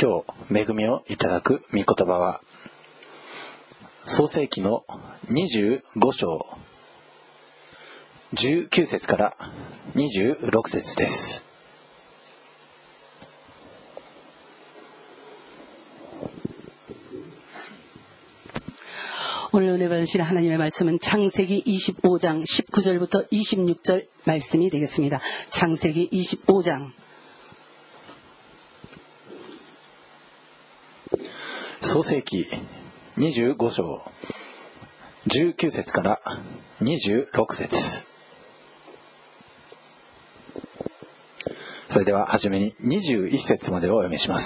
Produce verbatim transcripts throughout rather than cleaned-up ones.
今日恵みをいただく御言葉は創世記のにじゅうご章じゅうきゅう節からにじゅうろく節です。 오늘 은혜 받으실 하나님의 말씀은 창세기 이십오 장 십구 절부터 이십육 절 말씀이 되겠습니다. 창세기 이십오 장. 創世記にじゅうご章じゅうきゅう節からにじゅうろく節。それでははじめににじゅういち節までをお読みします。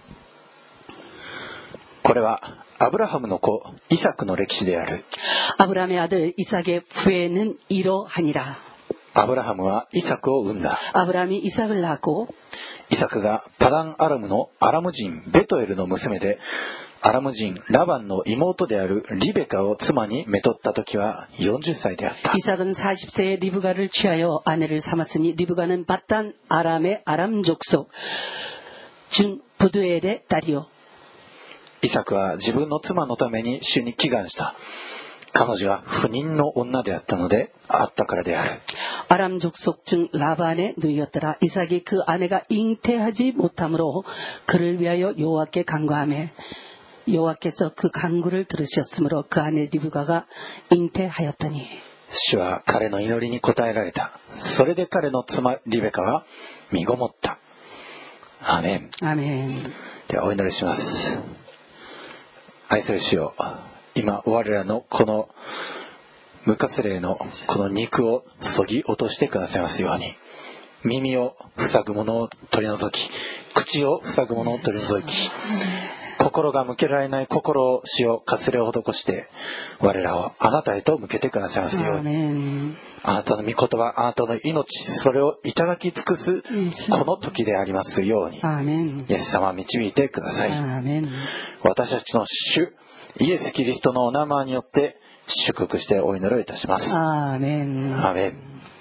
これはアブラハムの子イサクの歴史である。 아브라함의 아들 이삭의 부에는 이러하니라. アブラハムはイサクを産んだ。 아브라함이 이삭을 낳고 イサクがパダンアラムのアラム人ベトエルの娘でアラム人ラバンの妹であるリベカを妻にめとった時はよんじゅっさいであった。 이삭은 사십 세에 리브가를 취하여 아내를 삼았으니 리브가는 바단 아람의 아람 족속 중 부두엘의 딸이요. イサクは自分の妻のために主に祈願した。彼女は不妊の女であったのであったからである。 아람 족속 중 라반의 누이였더라. 이삭이 그 아내가 잉태하지 못함으로 그를 위하여 여호와께 간구하며 여호와께서 그 간구를 들으셨으므로 그 아내 리브가가 잉태하였더니. 主は彼の祈りに応えられた。それで彼の妻リベカは身ごもった。アーメン。 アーメン。 ではお祈りします。愛する主よ、今我らのこの無活霊のこの肉をそぎ落としてくださいますように、耳を塞ぐものを取り除き、口を塞ぐものを取り除き、心が向けられない心を主よ活霊を施して我らをあなたへと向けてくださいますように、あなたの御言葉、あなたの命、それをいただき尽くすこの時でありますように、イエス様導いてください。私たちの主イエスキリストのお名前によって祝福してお祈りをいたします。 アーメン。 アーメン。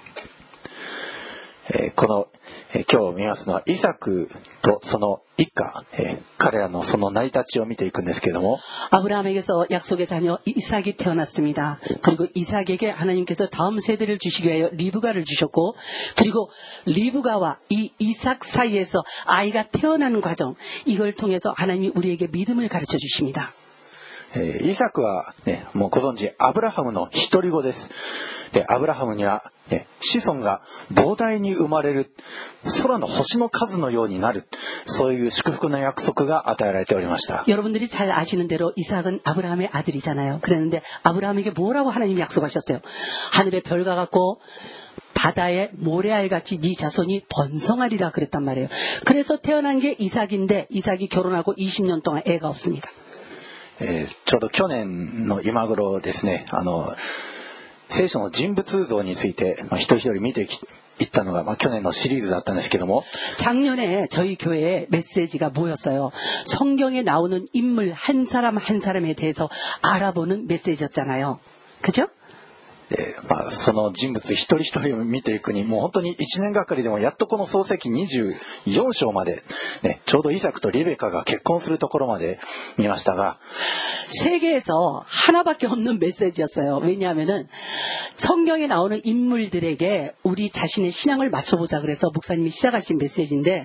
えー、この、えー、今日見ますのはイサクとその一家、えー、彼らのその成り立ちを見ていくんですけれども、 아브라함에게서 약속의 자녀 이삭이 태어났습니다. 그리고 이삭에게 하나님께서 다음 세대를 주시기 위하여 리브가를 주셨고, 그리고 리브가와 이 이삭 사이에서 아이가 태어나는 과정, 이걸 통해서 하나님이 우리에게 믿음을 가르쳐 주십니다. えー、イサクは、ね、もうご存知アブラハムの独り子です。でアブラハムには、ね、子孫が膨大に生まれる、空の星の数のようになる、そういう祝福の約束が与えられておりました。 여러분들이 잘 아시는 대로 이삭은 아브라함의 아들이잖아요. 그랬는데 아브라함에게 뭐라고 하나님이 약속하셨어요? 하늘의 별과 같고 바다의 모래알같이 네 자손이 번성하리라 그랬단 말이에요. 그래서 태어난 게 이삭인데 이삭이 결혼하고 이십 년 동안 애가 없습니다. えー、ちょうど去年の今頃ですね、あの聖書の人物像について、まあ、一人一人見ていったのが、まあ、去年のシリーズだったんですけども、 작년에 저희 교회의 메시지가 뭐였어요? 성경에 나오는 인물 한 사람 한 사람에 대해서 알아보는 메시지였잖아요. 그죠? えーまあ、その人物一人一人を見ていくにもう本当にいちねんがかりでもやっとこの創世記にじゅうよん章まで、ね、ちょうどイサクとリベカが結婚するところまで見ましたが、 세계에서 하나밖에 없는 메시지였어요. 왜냐하면은 성경에 나오는 인물들에게 우리 자신의 신앙을 맞춰보자 그래서 목사님이 시작하신 메시지인데,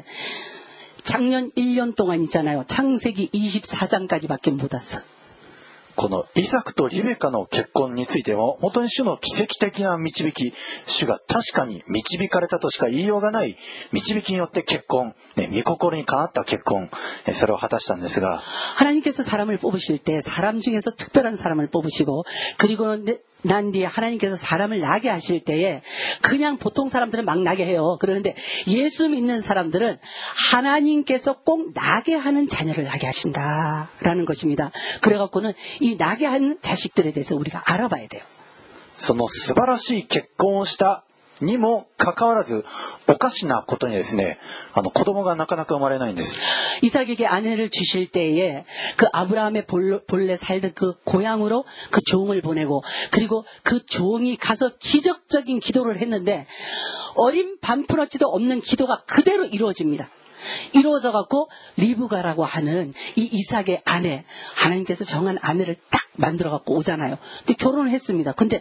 작년 일 년 동안 있잖아요. 창세기 이십사 장까지밖에 못 왔어. このイサクとリベカの結婚についても本当に主の奇跡的な導き、主が確かに導かれたとしか言いようがない導きによって結婚、ね、御心にかなった結婚、それを果たしたんですが、 하나님께서 사람을 뽑으실 때 사람 중에서 특별한 사람을 뽑으시고, 그리고 난 뒤에 하나님께서 사람을 나게 하실 때에 그냥 보통 사람들은 막 나게 해요. 그런데 예수 믿는 사람들은 하나님께서 꼭 나게 하는 자녀를 나게 하신다라는 것입니다. 그래갖고는 이 나게 하는 자식들에 대해서 우리가 알아봐야 돼요. その素晴らしい結婚をしたにもかかわらずおかしなことにですね、あの子供がなかなか生まれないんです。 이삭에게 아내를 주실 때에 그 아브라함의 본래 살던 그 고향으로 그 종을 보내고, 그리고 그 종이 가서 기적적인 기도를 했는데 어린 반푼어치도 없는 기도가 그대로 이루어집니다. 이루어져 갖고 리브가라고 하는 이 이삭의 아내, 하나님께서 정한 아내를 딱 만들어 갖고 오잖아요. 근데 결혼을 했습니다. 근데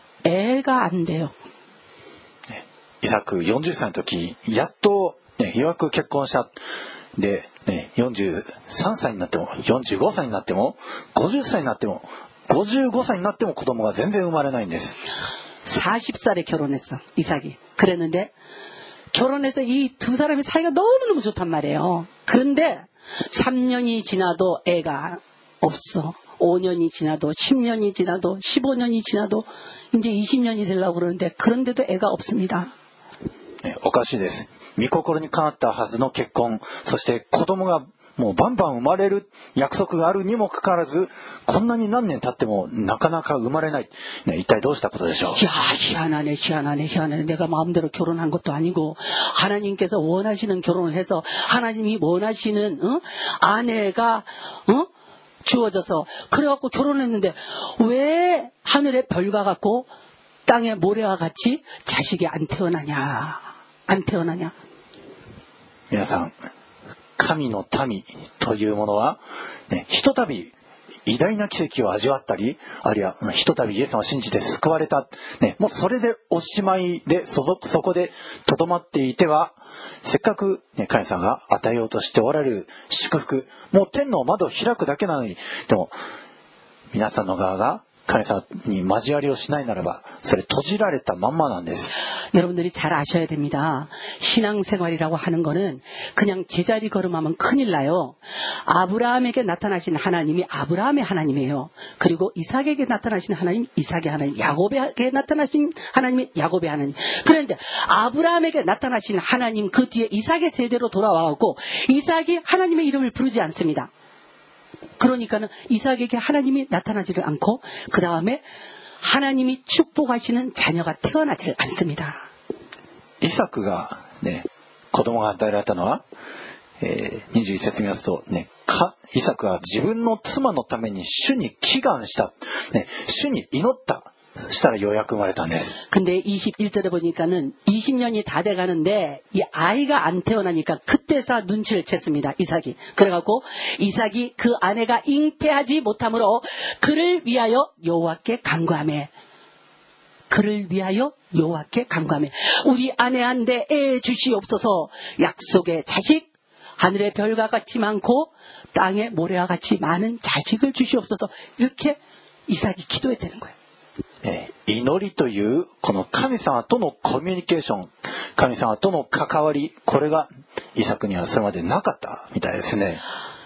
애가 안 돼요. イサクよんじゅっさいの時、やっと、ね、ようやく結婚した。で、ね、よんじゅうさんさいになっても、よんじゅうごさいになっても、ごじゅっさいになっても、ごじゅうごさいになっても子供が全然生まれないんです。 사십 살에 결혼했어, 이삭이. 그랬는데 결혼해서 이 두 사람의 사이가 너무너무 좋단 말이에요. 그런데 삼 년이 지나도 애가 없어. 오 년이 지나도, 십 년이 지나도, 십오 년이 지나도 이제 이십 년이 되려고 그러는데 그런데도 애가 없습니다. おかしいです。御心にかなったはずの結婚、そして子供がもうバンバン生まれる約束があるにもかかわらず、こんなに何年経ってもなかなか生まれない。ね、一体どうしたことでしょう。 야, 희한하네, 희한하네, 희한하네. 내가 마음대로 결혼한 것도 아니고 하나님께서 원하시는 결혼을 해서 하나님이 원하시는 어? 아내가 어? 주어져서 그래갖고 결혼했는데 왜 하늘의 별과 같고 땅의 모래와 같이 자식이 안 태어나냐, 안 태어나냐. 皆さん、神の民というものは、ね、ひとたび偉大な奇跡を味わったり、あるいはひとたびイエス様を信じて救われた、ね、もうそれでおしまいで そ, そこでとどまっていては、せっかく、ね、神様が与えようとしておられる祝福、もう天の窓を開くだけなのに、でも皆さんの側が神様に交わりをしないならば、それ閉じられたまんまなんです。 여러분들이 잘 아셔야 됩니다. 신앙생활이라고 하는 거는 그냥 제자리 걸음하면 큰일 나요. 아브라함에게 나타나신 하나님이 아브라함의 하나님이에요. 그리고 이삭에게 나타나신 하나님, 이삭의 하나님, 야곱에게 나타나신 하나님이 야곱의 하나님. 그런데 아브라함에게 나타나신 하나님 그 뒤에 이삭의 세대로 돌아와갖고 이삭이 하나님의 이름을 부르지 않습니다. 그러니까는 이삭에게 하나님이 나타나지를 않고 그 다음에 하나님이 축복하시는 자녀가 태어나지를 않습니다. イサクがね、子供が与えられたのは、えー、にじゅういち節見ますと、ね、かイサクは自分の妻のために主に祈願した、ね、主に祈ったしたらようやく生まれたんです。 근데 이십일 절에 보니까는 이십 년이 다 돼가는데 이 아이가 안 태어나니까 그때서 눈치를 챘습니다. 이삭이. 그래갖고 이삭이 그 아내가 잉태하지 못함으로 그를 위하여 여호와께 간구하매. 그를 위하여 여호와께 간구하매. 우리 아내한테 애 주시옵소서. 약속의 자식, 하늘의 별과 같이 많고 땅의 모래와 같이 많은 자식을 주시옵소서. 이렇게 이삭이 기도했다는 거예요. 祈りというこの神様とのコミュニケーション、神様との関わり、これがイサクにはそれまでなかったみたいですね。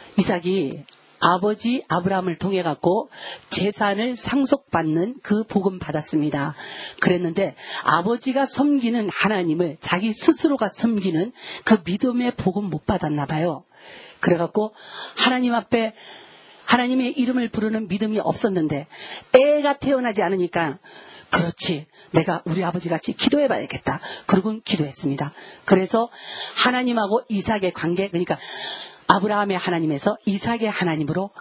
이삭이 아버지 아브라함을 통해 갖고 재산을 상속받는 그 복음 받았습니다. 그랬는데 아버지가 섬기는 하나님을 자기 스스로가 섬기는 그 믿음의 복음 못 받았나 봐요. 그래갖고 하나님 앞에 하나님의 이름을 부르는 믿음이 없었는데 애가 태어나지 않으니까 그렇지, 내가 우리 아버지 같이 기도해봐야겠다. 그러고 기도했습니다. 그래서 하나님하고 이삭의 관계, 그러니까 아브라함의 하나님에서 이삭의 하나님으로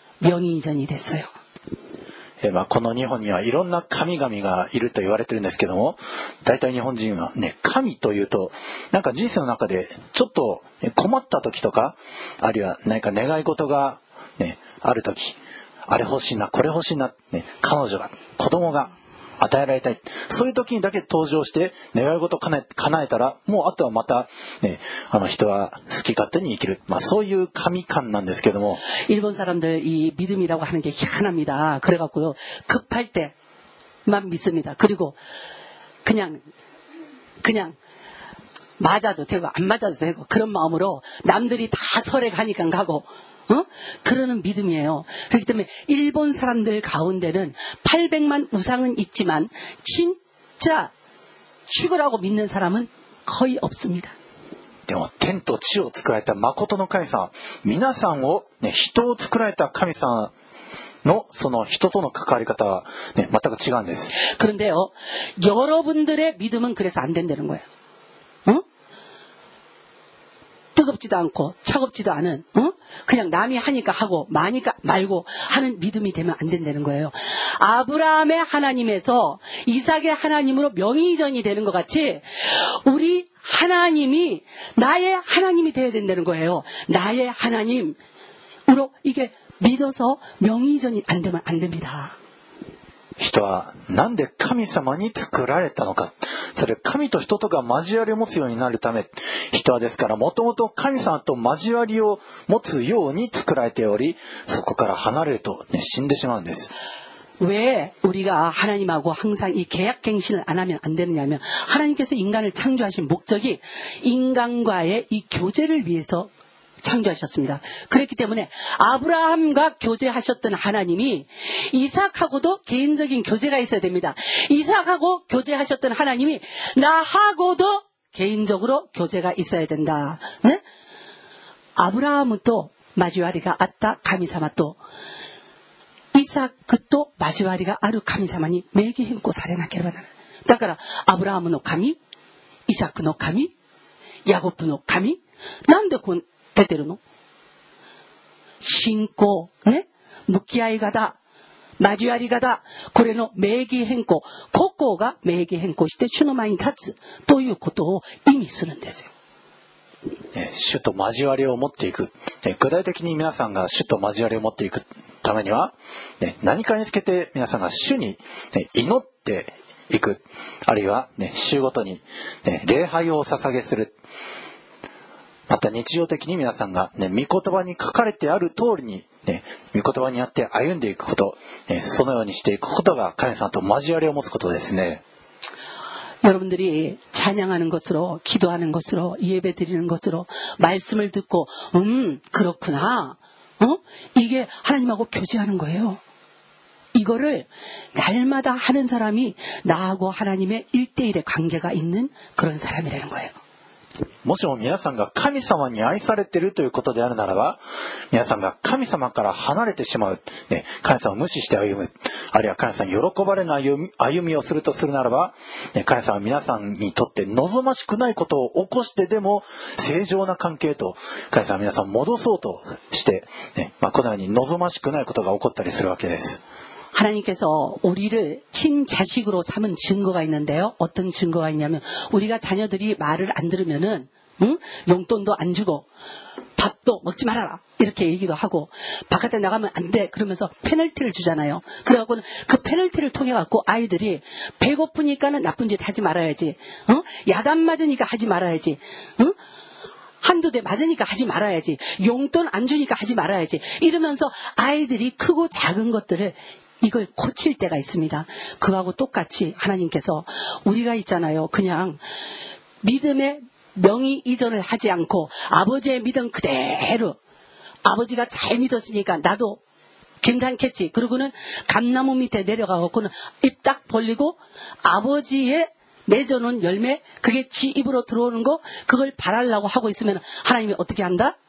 명의이전이 됐어요. えまあ、この日本にはいろんな神々がいると言われてるんですけども、大体日本人はね、神というとなんか人生の中でちょっと困った時とか、あるいは何か願い事がね、ある時、あれ欲しいな、これ欲しいな、ね、彼女が、子供が与えられたい、そういう時にだけ登場して願い事を叶え、叶えたら、もうあとはまた、ね、あの人は好き勝手に生きる、まあ、そういう神観なんですけども、 일본 사람들 이 믿음이라고 하는 게 희한합니다. 그래갖고요, 급할 때만 믿습니다. 그리고 그냥 그냥 맞아도 되고 안 맞아도 되고 그런 마음으로 남들이 다 설에 가니까 가고, 어? 그러는 믿음이에요. 그렇기 때문에 일본 사람들 가운데는 팔백만 우상은 있지만 진짜 죽으라고 믿는 사람은 거의 없습니다. でも天と地を作られた誠の神様、皆さんを、ね、人を作られた神様のその人との関わり方は、ね、全く違うんです。 그런데요, 여러분들의 믿음은 그래서 안 된다는 거예요. 어? 뜨겁지도 않고 차갑지도 않은, 어? 그냥 남이 하니까 하고 마니까 말고 하는 믿음이 되면 안 된다는 거예요. 아브라함의 하나님에서 이삭의 하나님으로 명의이전이 되는 것 같이 우리 하나님이 나의 하나님이 되어야 된다는 거예요. 나의 하나님으로 이게 믿어서 명의이전이 안 되면 안 됩니다. 人はなんで神様に作られたのか。それ神と人とが交わりを持つようになるため、人はですからもともと神様と交わりを持つように作られており、そこから離れると、ね、死んでしまうんです。 왜 우리가 하나님하고 항상 이 계약갱신을 안 하면 안 되느냐면 하나님께서 인간을 창조하신 목적이 인간과의 이 교제를 위해서 창조하셨습니다. 그렇기 때문에 아브라함과 교제하셨던 하나님이 이삭하고도 개인적인 교제가 있어야 됩니다. 이삭하고 교제하셨던 하나님이 나하고도 개인적으로 교제가 있어야 된다. 네? 아브라함은 또 마지와리가 아따 가미사마 또 이삭 또 마지와리가 아루 가미사마니 매기 행고 사레나케르바나. だからアブラハムの神、イサクの神、ヤコブの神、なんでこう出てるの？信仰、ね、向き合い方、交わり方、これの名義変更、個々が名義変更して主の前に立つということを意味するんですよ。 主と交わりを持っていく。具体的に皆さんが主と交わりを持っていくためには、何かにつけて皆さんが主に祈っていく。あるいは週ごとに礼拝をお捧げする。また日常的に皆さんが、ね、御言葉に書かれてある通りに、ね、御言葉にあって歩んでいくこと、ね、そのようにしていくことが神様と交わりを持つことですね。 여러분들이 찬양하는 것으로 기도하는 것으로 예배드리는 것으로 말씀을 듣고 음 그렇구나. 어? 이게 하나님하고 교제하는 거예요. 이거를 날마다 하는 사람이 나하고 하나님의 일대일의 관계가 있는 그런 사람이라는 거예요. もしも皆さんが神様に愛されているということであるならば、皆さんが神様から離れてしまう、ね、神様を無視して歩む、あるいは神様に喜ばれない歩み、歩みをするとするならば、ね、神様は皆さんにとって望ましくないことを起こしてでも正常な関係と神様は皆さんを戻そうとして、ね、まあ、このように望ましくないことが起こったりするわけです。 하나님께서 우리를 친자식으로 삼은 증거가 있는데요. 어떤 증거가 있냐면 우리가 자녀들이 말을 안 들으면은 응? 용돈도 안 주고 밥도 먹지 말아라 이렇게 얘기도 하고 바깥에 나가면 안 돼 그러면서 페널티를 주잖아요. 그래갖고는 그 페널티를 통해 갖고 아이들이 배고프니까는 나쁜 짓 하지 말아야지. 어? 야단 맞으니까 하지 말아야지. 응? 한두 대 맞으니까 하지 말아야지. 용돈 안 주니까 하지 말아야지. 이러면서 아이들이 크고 작은 것들을 이걸 고칠 때가 있습니다. 그거하고 똑같이 하나님께서 우리가 있잖아요. 그냥 믿음의 명의 이전을 하지 않고 아버지의 믿음 그대로 아버지가 잘 믿었으니까 나도 괜찮겠지. 그러고는 감나무 밑에 내려가고는 입 딱 벌리고 아버지의 맺어놓은 열매 그게 지 입으로 들어오는 거 그걸 바라려고 하고 있으면 하나님이 어떻게 한다?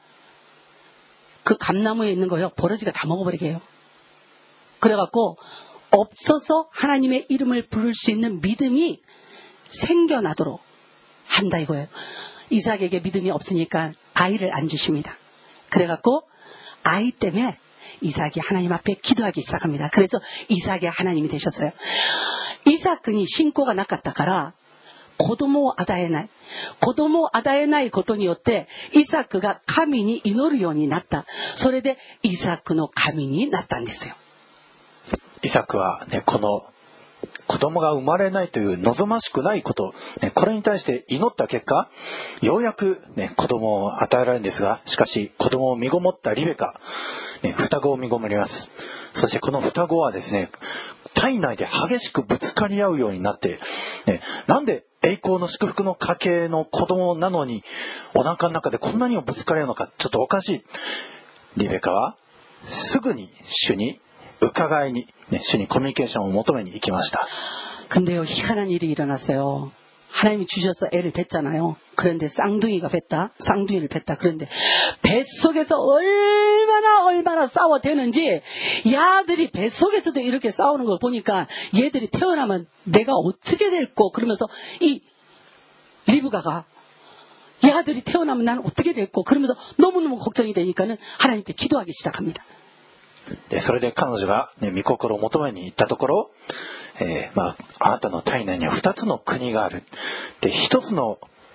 그 감나무에 있는 거요. 버러지가 다 먹어버리게 해요. 그래갖고 없어서 하나님의 이름을 부를 수 있는 믿음이 생겨나도록 한다 이거예요. 이삭에게 믿음이 없으니까 아이를 안 주십니다. 그래갖고 아이 때문에 이삭이 하나님 앞에 기도하기 시작합니다. 그래서 이삭이 하나님이 되셨어요. 이삭은 신고가 나갔다から子供を与えない。子供を与えないことによってイサクが神に祈るようになった。それでイサクの神になったんですよ。 イサクは、ね、この子供が生まれないという望ましくないこと、ね、これに対して祈った結果、ようやく、ね、子供を与えられるんですが、しかし子供を身ごもったリベカ、ね、双子を身ごもります。そしてこの双子はですね、体内で激しくぶつかり合うようになって、ね、なんで栄光の祝福の家系の子供なのにお腹の中でこんなにもぶつかり合うのか、ちょっとおかしい。リベカはすぐに主に伺いに、ね、主にコミュニケーションを求めに行きました。 근데요, 희한한 일이 일어났어요. 하나님이 주셔서 애를 뵀잖아요. 그런데 쌍둥이가 뵀다. 쌍둥이를 뵀다. 그런데 뱃속에서 얼마나 얼마나 싸워대는지 야들이 뱃속에서도 이렇게 싸우는 걸 보니까 얘들이 태어나면 내가 어떻게 될꼬 그러면서 이 리브가가 야들이 태어나면 나는 어떻게 될꼬 그러면서 너무너무 걱정이 되니까는 하나님께 기도하기 시작합니다. でそれで彼女が、ね、御心を求めに行ったところ、えーまあ、あなたの体内にはふたつの国がある。でひとつの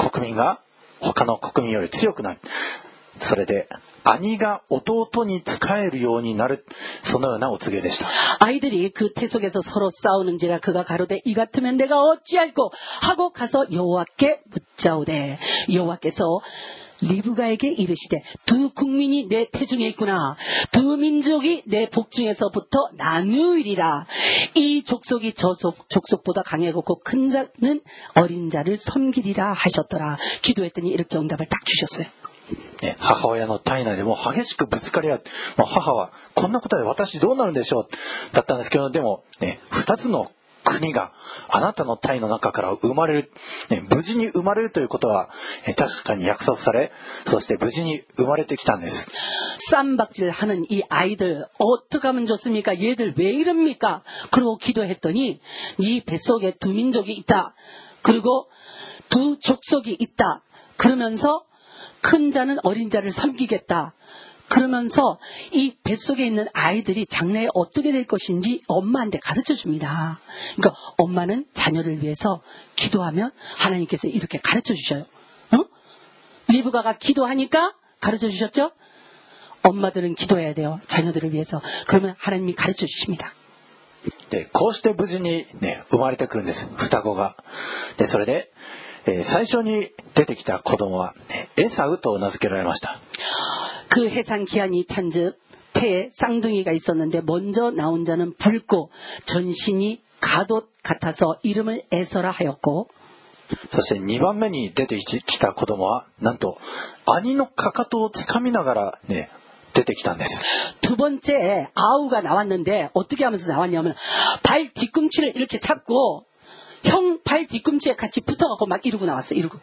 国民が他の国民より強くなる。それで兄が弟に仕えるようになる。そのようなお告げでした。 아이들이 그 태속에서 서로 싸우는지라 그가 가로되 이 같으면 내가 어찌할꼬 하고 가서 여호와께 묻자오되 여호와께서 리브가에게 이르시되 두 국민이 내 태중에 있구나. 두 민족이 내 복중에서부터 나누이리라. 이 족속이 저 족속보다 강하고 큰 자는 어린 자를 섬기리라 하셨더라. 기도했더니 이렇게 응답을 딱 주셨어요. ね、母親の体内でもう激しくぶつかり合う。もう母はこんなことで私どうなるんでしょうだったんですけど、でもね、二つの国があなたの体の中から生まれる、ね、無事に生まれるということは、え確かに約束され、そして無事に生まれてきたんです。 쌈박질하는 이 아이들 어떻게 하면 좋습니까? 얘들 왜 이럽니까? 그리고 기도했더니 이 뱃속에 두 민족이 있다. 그리고 두 족속이 있다. 그러면서 큰 자는 어린 자를 섬기겠다. 그러면서 이 뱃속에 있는 아이들이 장래에 어떻게 될 것인지 엄마한테 가르쳐 줍니다. 그러니까 엄마는 자녀를 위해서 기도하면 하나님께서 이렇게 가르쳐 주셔요. 어? 리브가가 기도하니까 가르쳐 주셨죠? 엄마들은 기도해야 돼요. 자녀들을 위해서. 그러면 하나님이 가르쳐 주십니다. で、こうして無事にね、生まれてくるんです。双子が。で、それで、えー、最初に出てきた子供は、ね、エサウと名付けられました。 그 해산 기한이 찬즉 태에 쌍둥이가 있었는데 먼저 나온 자는 붉고 전신이 가돛 같아서 이름을 에서라 하였고, そしてにばんめに出てきた子供はなんと兄のかかとをつかみながらね出てきたんです。 두 번째 아우가 나왔는데 어떻게 하면서 나왔냐면 발 뒤꿈치를 이렇게 잡고 형 발 뒤꿈치에 같이 붙어갖고 막 이러고 나왔어. 이러고.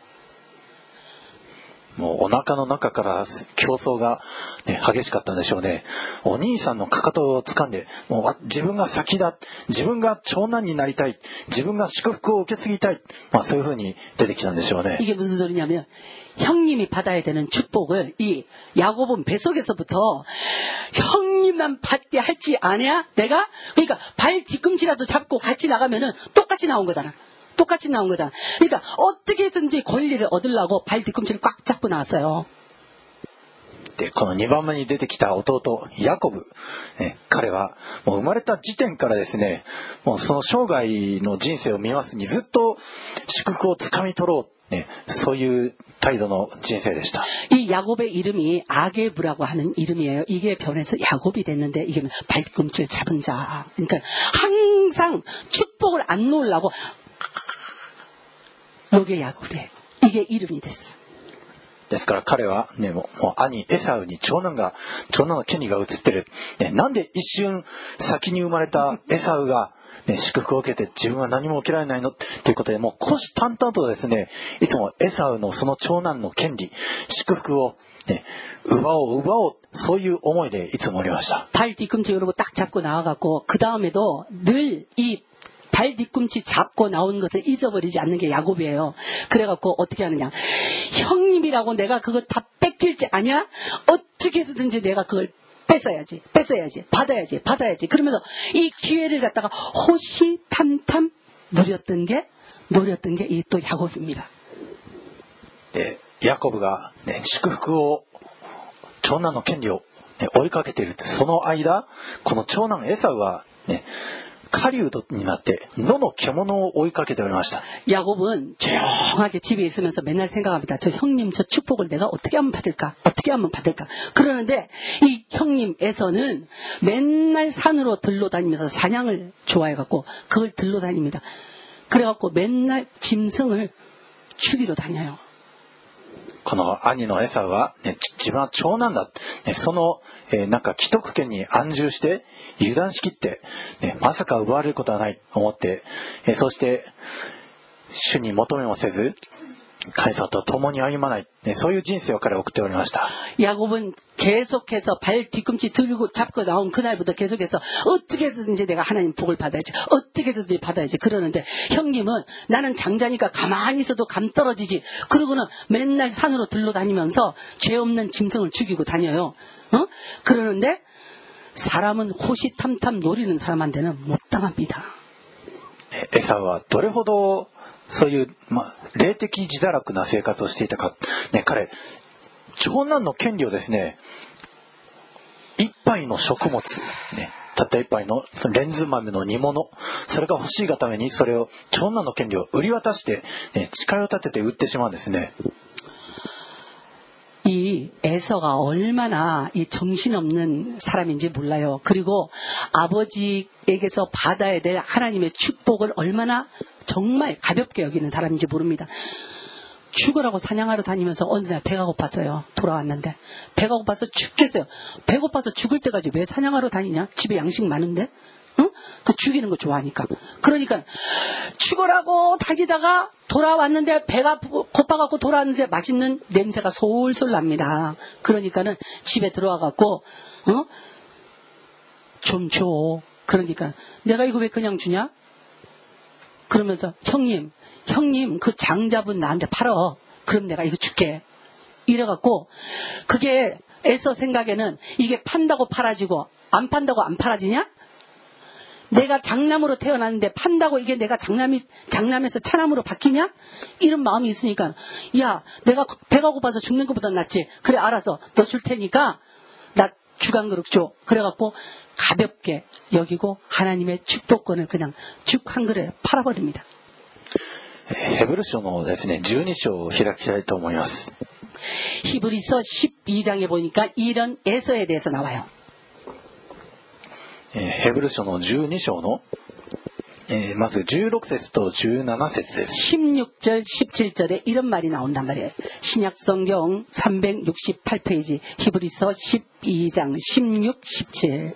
もうお腹の中から競争が、ね、激しかったんでしょうね。お兄さんのかかとを掴んで、もう自分が先だ、自分が長男になりたい、自分が祝福を受け継ぎたい、まあそういうふうに出てきたんでしょうね。 이게 무슨 소리냐면 형님이 받아야 되는 축복을 이 야곱은 뱃속에서부터 형님만 받게 할지 아냐? 내가? 그러니까 발 뒤꿈치라도 잡고 같이 나가면은 똑같이 나온 거잖아. 똑같이 나온 거잖아. 그러니까 어떻게든지 권리를 얻으려고 발 뒤꿈치를 꽉 잡고 나왔어요. で、このにばんめに出てきた弟ヤコブ、ね、彼はもう生まれた時点からですね、もうその生涯の人生を見ますにずっと祝福をつかみ取ろう、ね、そういう態度の人生でした。 이 야곱의 이름이 아게브라고 하는 이름이에요. 이게 변해서 야곱이 됐는데 이게 발꿈치를 잡은 자. 그러니까 항상 축복을 안 놓으려고 이게 야곱이에요. 이게 이름이 됐어. ですから彼はね、もう、もう兄エサウに長男が長男の権利が移ってる、ね、なんで一瞬先に生まれたエサウが、ね、祝福を受けて自分は何も受けられないのっていうことで、もう虎視眈々とですね、いつもエサウのその長男の権利祝福を、ね、奪おう奪おう、そういう思いでいつもおりました。 발 뒤꿈치 이러고 딱 잡고 나와갖고 그 다음에도 늘 이 발 뒤꿈치 잡고 나온 것을 잊어버리지 않는 게 야곱이에요. 그래갖고 어떻게 하느냐. 형님이라고 내가 그걸 다 뺏길지 아냐? 어떻게 해서든지 내가 그걸 뺏어야지, 뺏어야지, 받아야지, 받아야지. 그러면서 이 기회를 갖다가 호시탐탐 노렸던 게, 노렸던 게 이 또 야곱입니다. 네, 야곱가 네, 祝福を長男の権利を、ね、追いかけている。その間、この長男エサウはね。 狩人になって野の獣を追いかけておりました。 야곱은 조용하게 집에 있으면서 맨날 생각합니다. 저 형님 저 축복을 내가 어떻게 하면 받을까? 어떻게 하면 받을까? 그러는데 이 형님 에서는 맨날 산으로 들러 다니면서 사냥을 좋아해갖고 그걸 들러 다닙니다. 그래갖고 맨날 짐승을 죽이러 다녀요. この兄のエサウは、ね、自分は長男だ、ね、その、えー、なんか既得権に安住して油断しきって、ね、まさか奪われることはないと思って、えー、そして主に求めもせず神様と共に歩まない、ね、そういう人生を彼は送っておりました。 야곱은 계속해서 발 뒤꿈치 들고 잡고 나온 그날부터 계속해서 어떻게 해서든지 내가 하나님 복을 받아야지, 어떻게 해서든지 받아야지 그러는데 형님은 나는 장자니까 가만히 있어도 감 떨어지지. 그러고는 맨날 산으로 들러 다니면서 죄 없는 짐승을 죽이고 다녀요. 어? 그러는데 사람은 호시탐탐 노리는 사람한테는 못 당합니다. エサウはどれほどそういう、まあ、霊的自堕落な生活をしていたか、ね、彼長男の権利をですね、一杯の食物、ね、たった一杯のそのレンズ豆の煮物、それが欲しいがためにそれを長男の権利を売り渡して、ね、誓いを立てて売ってしまうんですね。 이 에서가 얼마나 이 정신없는 사람인지 몰라요. 그리고 아버지에게서 받아야 될 하나님의 축복을 얼마나 정말 가볍게 여기는 사람인지 모릅니다. 죽으라고 사냥하러 다니면서 어느 날 배가 고팠어요. 돌아왔는데 배가 고파서 죽겠어요. 배고파서 죽을 때까지 왜 사냥하러 다니냐? 집에 양식 많은데? 응? 그 죽이는 거 좋아하니까. 그러니까 죽으라고 다니다가 돌아왔는데 배가 고파갖고 돌아왔는데 맛있는 냄새가 솔솔 납니다. 그러니까는 집에 들어와갖고 어? 좀 줘. 그러니까 내가 이거 왜 그냥 주냐? 그러면서 형님 형님 그 장잡은 나한테 팔어. 그럼 내가 이거 줄게. 이래갖고 그게 에서 생각에는 이게 판다고 팔아지고 안 판다고 안 팔아지냐? 내가 장남으로 태어났는데 판다고 이게 내가 장남이 장남에서 차남으로 바뀌냐? 이런 마음이 있으니까 야 내가 배가 고파서 죽는 것보다 낫지. 그래 알아서 너 줄 테니까 나 죽 한 그릇 줘. 그래갖고 가볍게 여기고 하나님의 축복권을 그냥 죽 한 그릇에 팔아버립니다. ヘブル書のですね、じゅうに章を開きたいと思います。 히브리서 십이 장에 보니까 이런 에서에 대해서 나와요. ヘブル書のじゅうに章の、えー、まずじゅうろく節とじゅうなな節です。 십육 절, 십칠 절에 이런 말이 나온단 말이에요. 신약성경 삼백육십팔 페이지 히브리서 십이 장 십육, 십칠.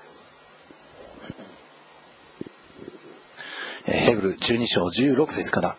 ヘブルじゅうに章じゅうろく節から。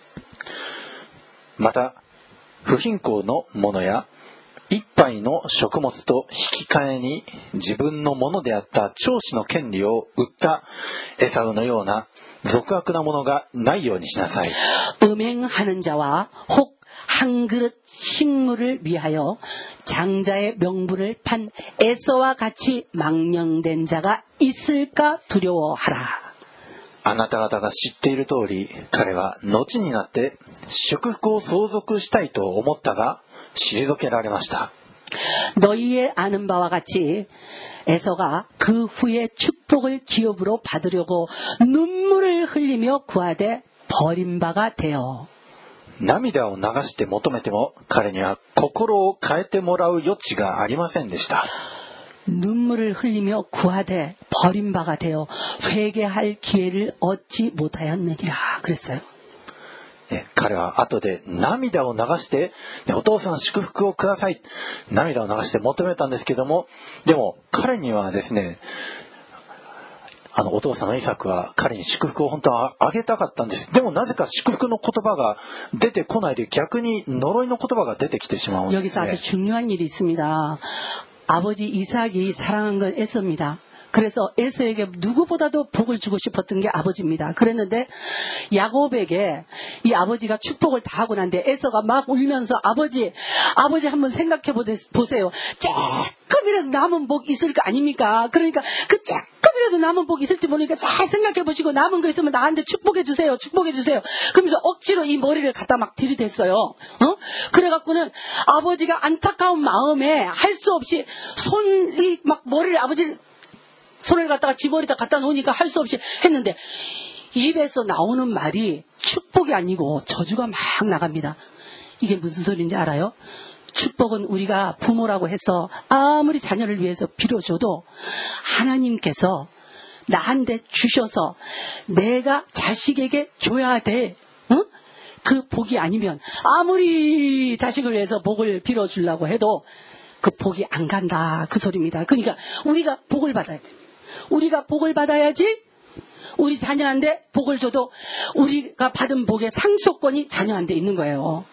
また不貧困の者や一杯の食物と引き換えに自分のものであった長子の権利を売ったエサウのような俗悪なものがないようにしなさい。 음행하는 자와 혹 한 그릇 식물을 위하여 장자의 명분을 판 에서와 같이 망령된 자가 있을까 두려워하라. あなた方が知っている通り、彼は後になって祝福を相続したいと思ったが退けられました。 너희의 아는 바와 같이 에서가 그 후에 축복을 기업으로 받으려고 눈물을 흘리며 구하되 버린 바가 되어 涙を流して求めても彼には心を変えてもらう余地がありませんでした。 눈물을 흘리며 구하되 버린 바가 되어 회개할 기회를 얻지 못하였느니라 그랬어요. 彼は後で涙を流して、ね、お父さん祝福をください、涙を流して求めたんですけども、でも彼にはですね、あのお父さんのイサクは彼に祝福を本当はあげたかったんです。でもなぜか祝福の言葉が出てこないで逆に呪いの言葉が出てきてしまうんですね。 여기서 아주 중요한 일이 있습니다. 아버지 이삭이 사랑한 건 에서입니다. 그래서 에서에게 누구보다도 복을 주고 싶었던 게 아버지입니다. 그랬는데 야곱에게 이 아버지가 축복을 다 하고 난데 에서가 막 울면서 아버지 아버지 한번 생각해 보세요. 조금이라도 남은 복 있을 거 아닙니까? 그러니까 그 조금이라도 남은 복 있을지 모르니까 잘 생각해 보시고 남은 거 있으면 나한테 축복해 주세요. 축복해 주세요. 그러면서 억지로 이 머리를 갖다 막 들이댔어요. 어? 그래갖고는 아버지가 안타까운 마음에 할 수 없이 손이 막 머리를 아버지 손을 갖다가 지머리다 갖다 놓으니까 할 수 없이 했는데 입에서 나오는 말이 축복이 아니고 저주가 막 나갑니다. 이게 무슨 소리인지 알아요? 축복은 우리가 부모라고 해서 아무리 자녀를 위해서 빌어줘도 하나님께서 나한테 주셔서 내가 자식에게 줘야 돼. 어? 그 복이 아니면 아무리 자식을 위해서 복을 빌어주려고 해도 그 복이 안 간다. 그 소리입니다. 그러니까 우리가 복을 받아야 돼. 우리가 복을 받아야지 우리 자녀한테 복을 줘도 우리가 받은 복의 상속권이 자녀한테 있는 거예요.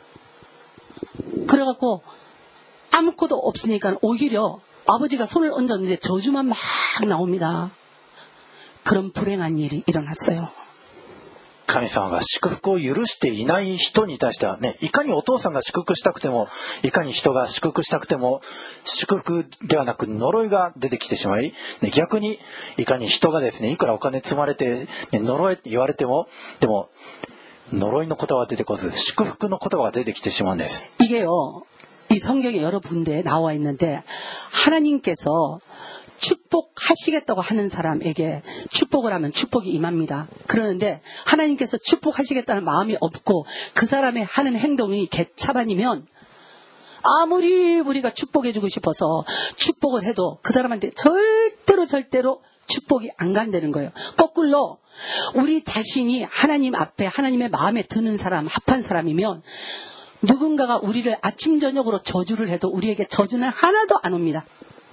그래갖고 아무것도 없으니까 오히려 아버지가 손을 얹었는데 저주만 막 나옵니다. 그런 불행한 일이 일어났어요. 神様が祝福を許していない人に対してはね、いかにお父さんが祝福したくても、いかに人が祝福したくても、祝福ではなく呪いが出てきてしまい、ね、逆にいかに人がですね、いくらお金積まれて、ね、呪えって言われても、でも呪いの言葉が出てこず祝福の言葉が出てきてしまうんです。 이게요, 이 성경에 여러 군데에 나와 있는데 하나님께서 축복하시겠다고 하는 사람에게 축복을 하면 축복이 임합니다. 그러는데 하나님께서 축복하시겠다는 마음이 없고 그 사람의 하는 행동이 개차반이면 아무리 우리가 축복해주고 싶어서 축복을 해도 그 사람한테 절대로 절대로 축복이 안 간다는 거예요. 거꾸로 우리 자신이 하나님 앞에 하나님의 마음에 드는 사람, 합한 사람이면 누군가가 우리를 아침 저녁으로 저주를 해도 우리에게 저주는 하나도 안 옵니다.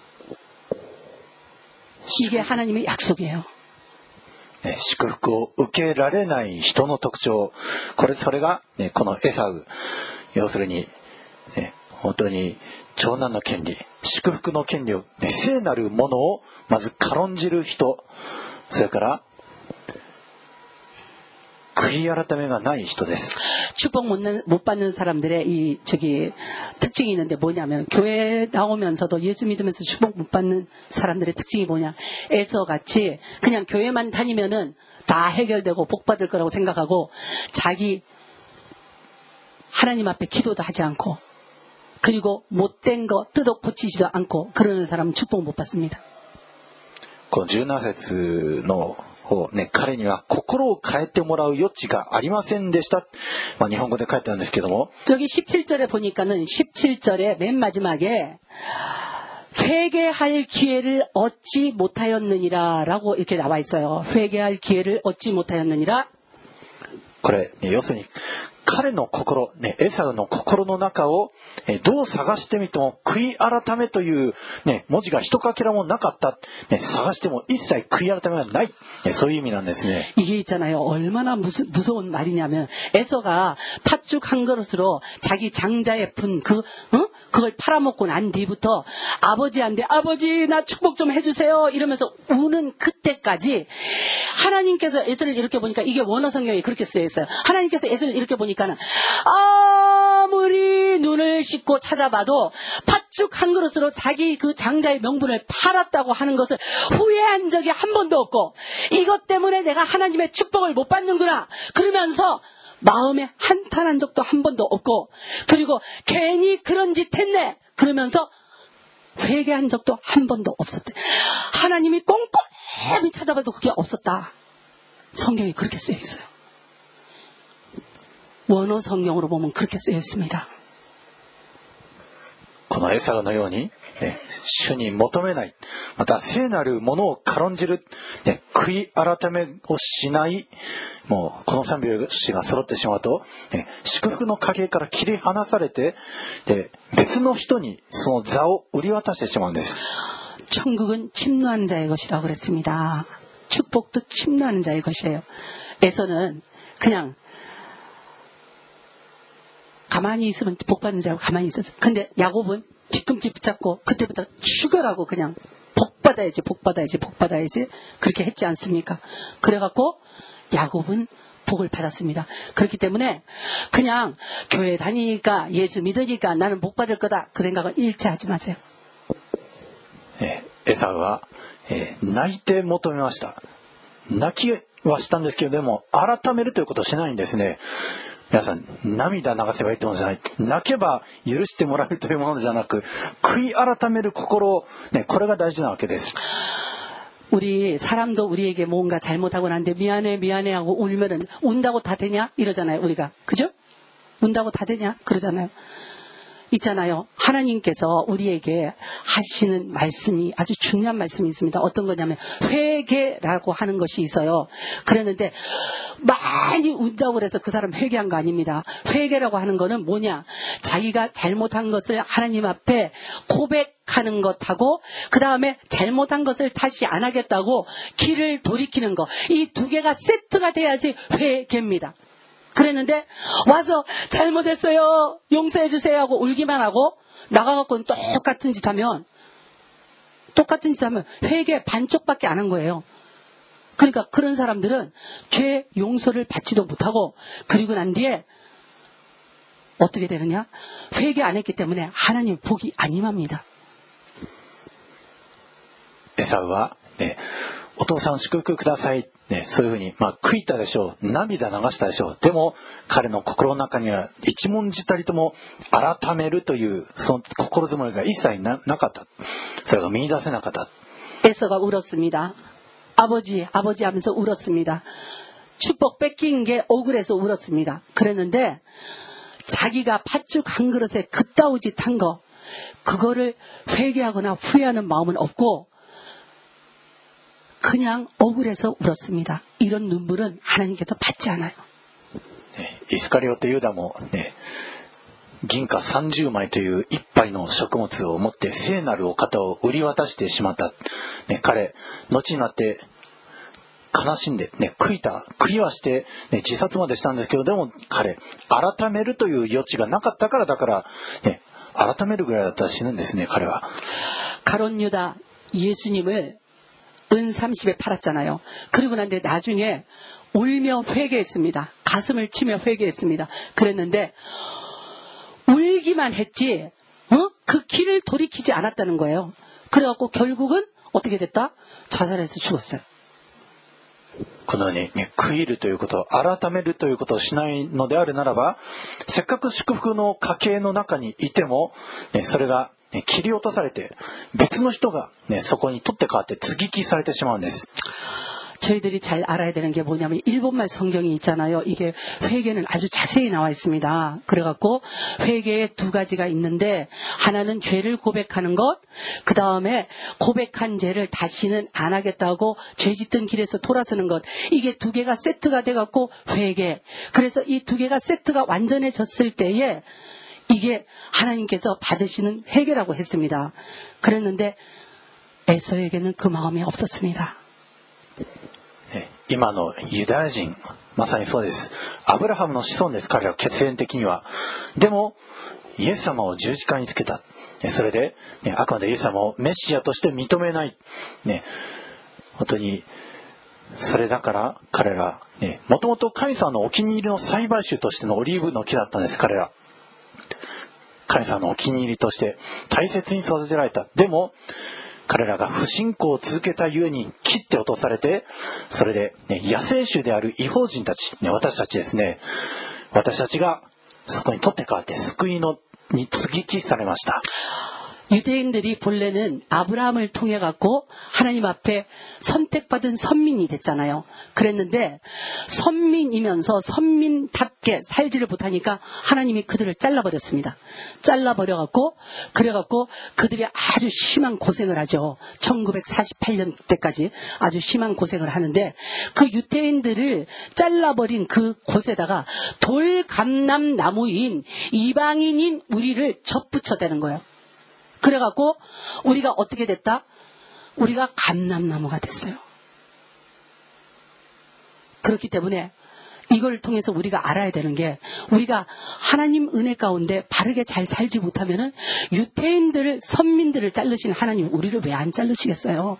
이게 하나님의 약속이에요. ね、祝福を受けられない人の特徴、これそれが、ね、このエサウ、要するに、ね、本当に長男の権利、祝福の権利を、ね、聖なるものをまず軽んじる人、それから悔い改めがない人です。 축복 못, 못 받는 사람들의 이 저기 특징이 있는데 뭐냐면 교회에 나오면서도 예수 믿으면서 축복 못 받는 사람들의 특징이 뭐냐, 에서같이 그냥 교회만 다니면은 다 해결되고 복 받을 거라고 생각하고 자기 하나님 앞에 기도도 하지 않고 그리고 못된 거 뜯어 고치지도 않고 그러는 사람은 축복 못 받습니다. このじゅうなな節のね、彼には心を変えてもらう余地がありませんでした。まあ、日本語で書いてあるんですけども。 여기 십칠 절에 보니까는 십칠 절에 맨 마지막에 회개할 기회를 얻지 못하였느니라라고 이렇게 나와 있어요. 회개할 기회를 얻지 못하였느니라. これ、ね、要するに彼の心、ね、エサウの心の中を、えどう探してみても悔い改めという、ね、文字が一かけらもなかった、ね、探しても一切悔い改めがない、ね、そういう意味なんですね。 이게 있잖아요. 얼마나 무스, 무서운 말이냐면 에서가 팥죽 한 그릇으로 자기 장자의 분 그, 어? 그걸 팔아먹고 난 뒤부터 아버지한테 아버지 나 축복 좀 해주세요 이러면서 우는 그때까지 하나님께서 에서를 이렇게 보니까 이게 원어 성경에 그렇게 쓰여 있어요. 하나님께서 에서를 이렇게 보니까는 아무리 눈을 씻고 찾아봐도 팥죽 한 그릇으로 자기 그 장자의 명분을 팔았다고 하는 것을 후회한 적이 한 번도 없고 이것 때문에 내가 하나님의 축복을 못 받는구나 그러면서 마음에 한탄한 적도 한 번도 없고 그리고 괜히 그런 짓 했네 그러면서 회개한 적도 한 번도 없었대. 하나님이 꼼꼼히 찾아봐도 그게 없었다. 성경이 그렇게 쓰여 있어요. 원어 성경으로 보면 그렇게 쓰여 있습니다. このエサウのように、ね、主に求めない、また聖なるものを軽んじる、ね、悔い改めをしない、もうこの三拍子が揃ってしまうと、ね、祝福の影から切り離されて、で別の人にその座を売り渡してしまうんです。 천국은 침노하는 자의 것이라고 그랬습니다. 축복도 침노하는 자의 것이에요. 에서는 그냥 가만히 있으면 복 받는 자고 가만히 있었어요. 근데 야곱은 뒤꿈치 붙잡고 그때부터 죽여라고 그냥 복 받아야지 복 받아야지 복 받아야지 그렇게 했지 않습니까? 그래갖고 야곱은 복을 받았습니다. 그렇기 때문에 그냥 교회 다니니까 예수 믿으니까 나는 복 받을 거다 그 생각을 일체 하지 마세요. エサウは、えー、泣いて求めました。泣きはしたんですけどでも改めるということをしないんですね。皆さん涙流せばいいってものじゃない。泣けば許してもらえるというものじゃなく悔い改める心、ね、これが大事なわけです。 우리 사람도 우리에게 뭔가 잘못하고 난데 미안해 미안해 하고 울면은 운다고 다 되냐 이러잖아요 우리가. 그죠? 운다고 다 되냐 그러잖아요. 있잖아요. 하나님께서 우리에게 하시는 말씀이 아주 중요한 말씀이 있습니다. 어떤 거냐면 회개라고 하는 것이 있어요. 그랬는데 많이 운다고 그래서 그 사람 회개한 거 아닙니다. 회개라고 하는 거는 뭐냐? 자기가 잘못한 것을 하나님 앞에 고백하는 것하고 그 다음에 잘못한 것을 다시 안 하겠다고 길을 돌이키는 거. 이 두 개가 세트가 돼야지 회개입니다. 그랬는데 와서 잘못했어요 용서해 주세요 하고 울기만 하고 나가갖고는 똑같은 짓 하면 똑같은 짓 하면 회개 반쪽밖에 안 한 거예요. 그러니까 그런 사람들은 죄 용서를 받지도 못하고 그리고 난 뒤에 어떻게 되느냐 회개 안 했기 때문에 하나님 복이 안 임합니다. エサウは、ね、お父さん祝福ください、ね、そういうふうに、まあ、悔いたでしょう、涙流したでしょう。でも彼の心の中には一文字たりとも改めるというその心づもりが一切 な, なかった。それが見出せなかった。 에서가 울었습니다. 아버지 아버지 하면서 울었습니다. 축복 뺏긴 게 억울해서 울었습니다. 그랬는데 자기가 팥죽 한 그릇에 그따위 짓 한 거 그거를 회개하거나 후회하는 마음은 없고 그냥 억울해서 울었습니다. 이런 눈물은 하나님께서 받지 않아요. 네, 이스카리오트 유다もね、銀貨さんじゅうまいという一杯の食物を持って聖なるお方を売り渡してしまった、ね、彼後になって悲しんで、ね、悔いた悔いはして、ね、自殺までしたんですけど、でも彼改めるという余地がなかったからだから、ね、改めるぐらいだったら死ぬんですね。彼は 가롯 유다 예수님을 은 삼십에 팔았잖아요. 그리고 난데 나중에 울며 회개했습니다. 가슴을 치며 회개했습니다. 그랬는데 울기만 했지 어? 그 길을 돌이키지 않았다는 거예요. 그래갖고 결국은 어떻게 됐다? 자살해서 죽었어요. このように、ね、悔いるということ改めるということをしないのであるならば、せっかく祝福の家系の中にいても、ね、それが、ね、切り落とされて別の人が、ね、そこに取って代わって接ぎ木されてしまうんです。 저희들이 잘 알아야 되는 게 뭐냐면 일본말 성경이 있잖아요. 이게 회개는 아주 자세히 나와 있습니다. 그래갖고 회개에 두 가지가 있는데 하나는 죄를 고백하는 것, 그 다음에 고백한 죄를 다시는 안 하겠다고 죄 짓던 길에서 돌아서는 것. 이게 두 개가 세트가 돼갖고 회개. 그래서 이 두 개가 세트가 완전해졌을 때에 이게 하나님께서 받으시는 회개라고 했습니다. 그랬는데 에서에게는 그 마음이 없었습니다. 今のユダヤ人まさにそうです。アブラハムの子孫です。彼らは血縁的には。でもイエス様を十字架につけた。それで、ね、あくまでイエス様をメシアとして認めない、ね、本当にそれだから彼らもともと神様のお気に入りの栽培種としてのオリーブの木だったんです。彼ら神様のお気に入りとして大切に育てられた。でも彼らが不信仰を続けたゆえに切って落とされて、それで、ね、野生種である異邦人たち、ね、私たちですね、私たちがそこに取って代わって救いのに接ぎ木されました。 유대인들이 본래는 아브라함을 통해 갖고 하나님 앞에 선택받은 선민이 됐잖아요. 그랬는데 선민이면서 선민답게 살지를 못하니까 하나님이 그들을 잘라버렸습니다. 잘라버려 갖고 그래 갖고 그들이 아주 심한 고생을 하죠. 천구백사십팔 년 때까지 아주 심한 고생을 하는데 그 유대인들을 잘라버린 그 곳에다가 돌감람나무인 이방인인 우리를 접붙여대는 거예요. 그래갖고 우리가 어떻게 됐다? 우리가 감람나무가 됐어요. 그렇기 때문에 이걸 통해서 우리가 알아야 되는 게 우리가 하나님 은혜 가운데 바르게 잘 살지 못하면은 유대인들을 선민들을 자르신 하나님 우리를 왜 안 자르시겠어요?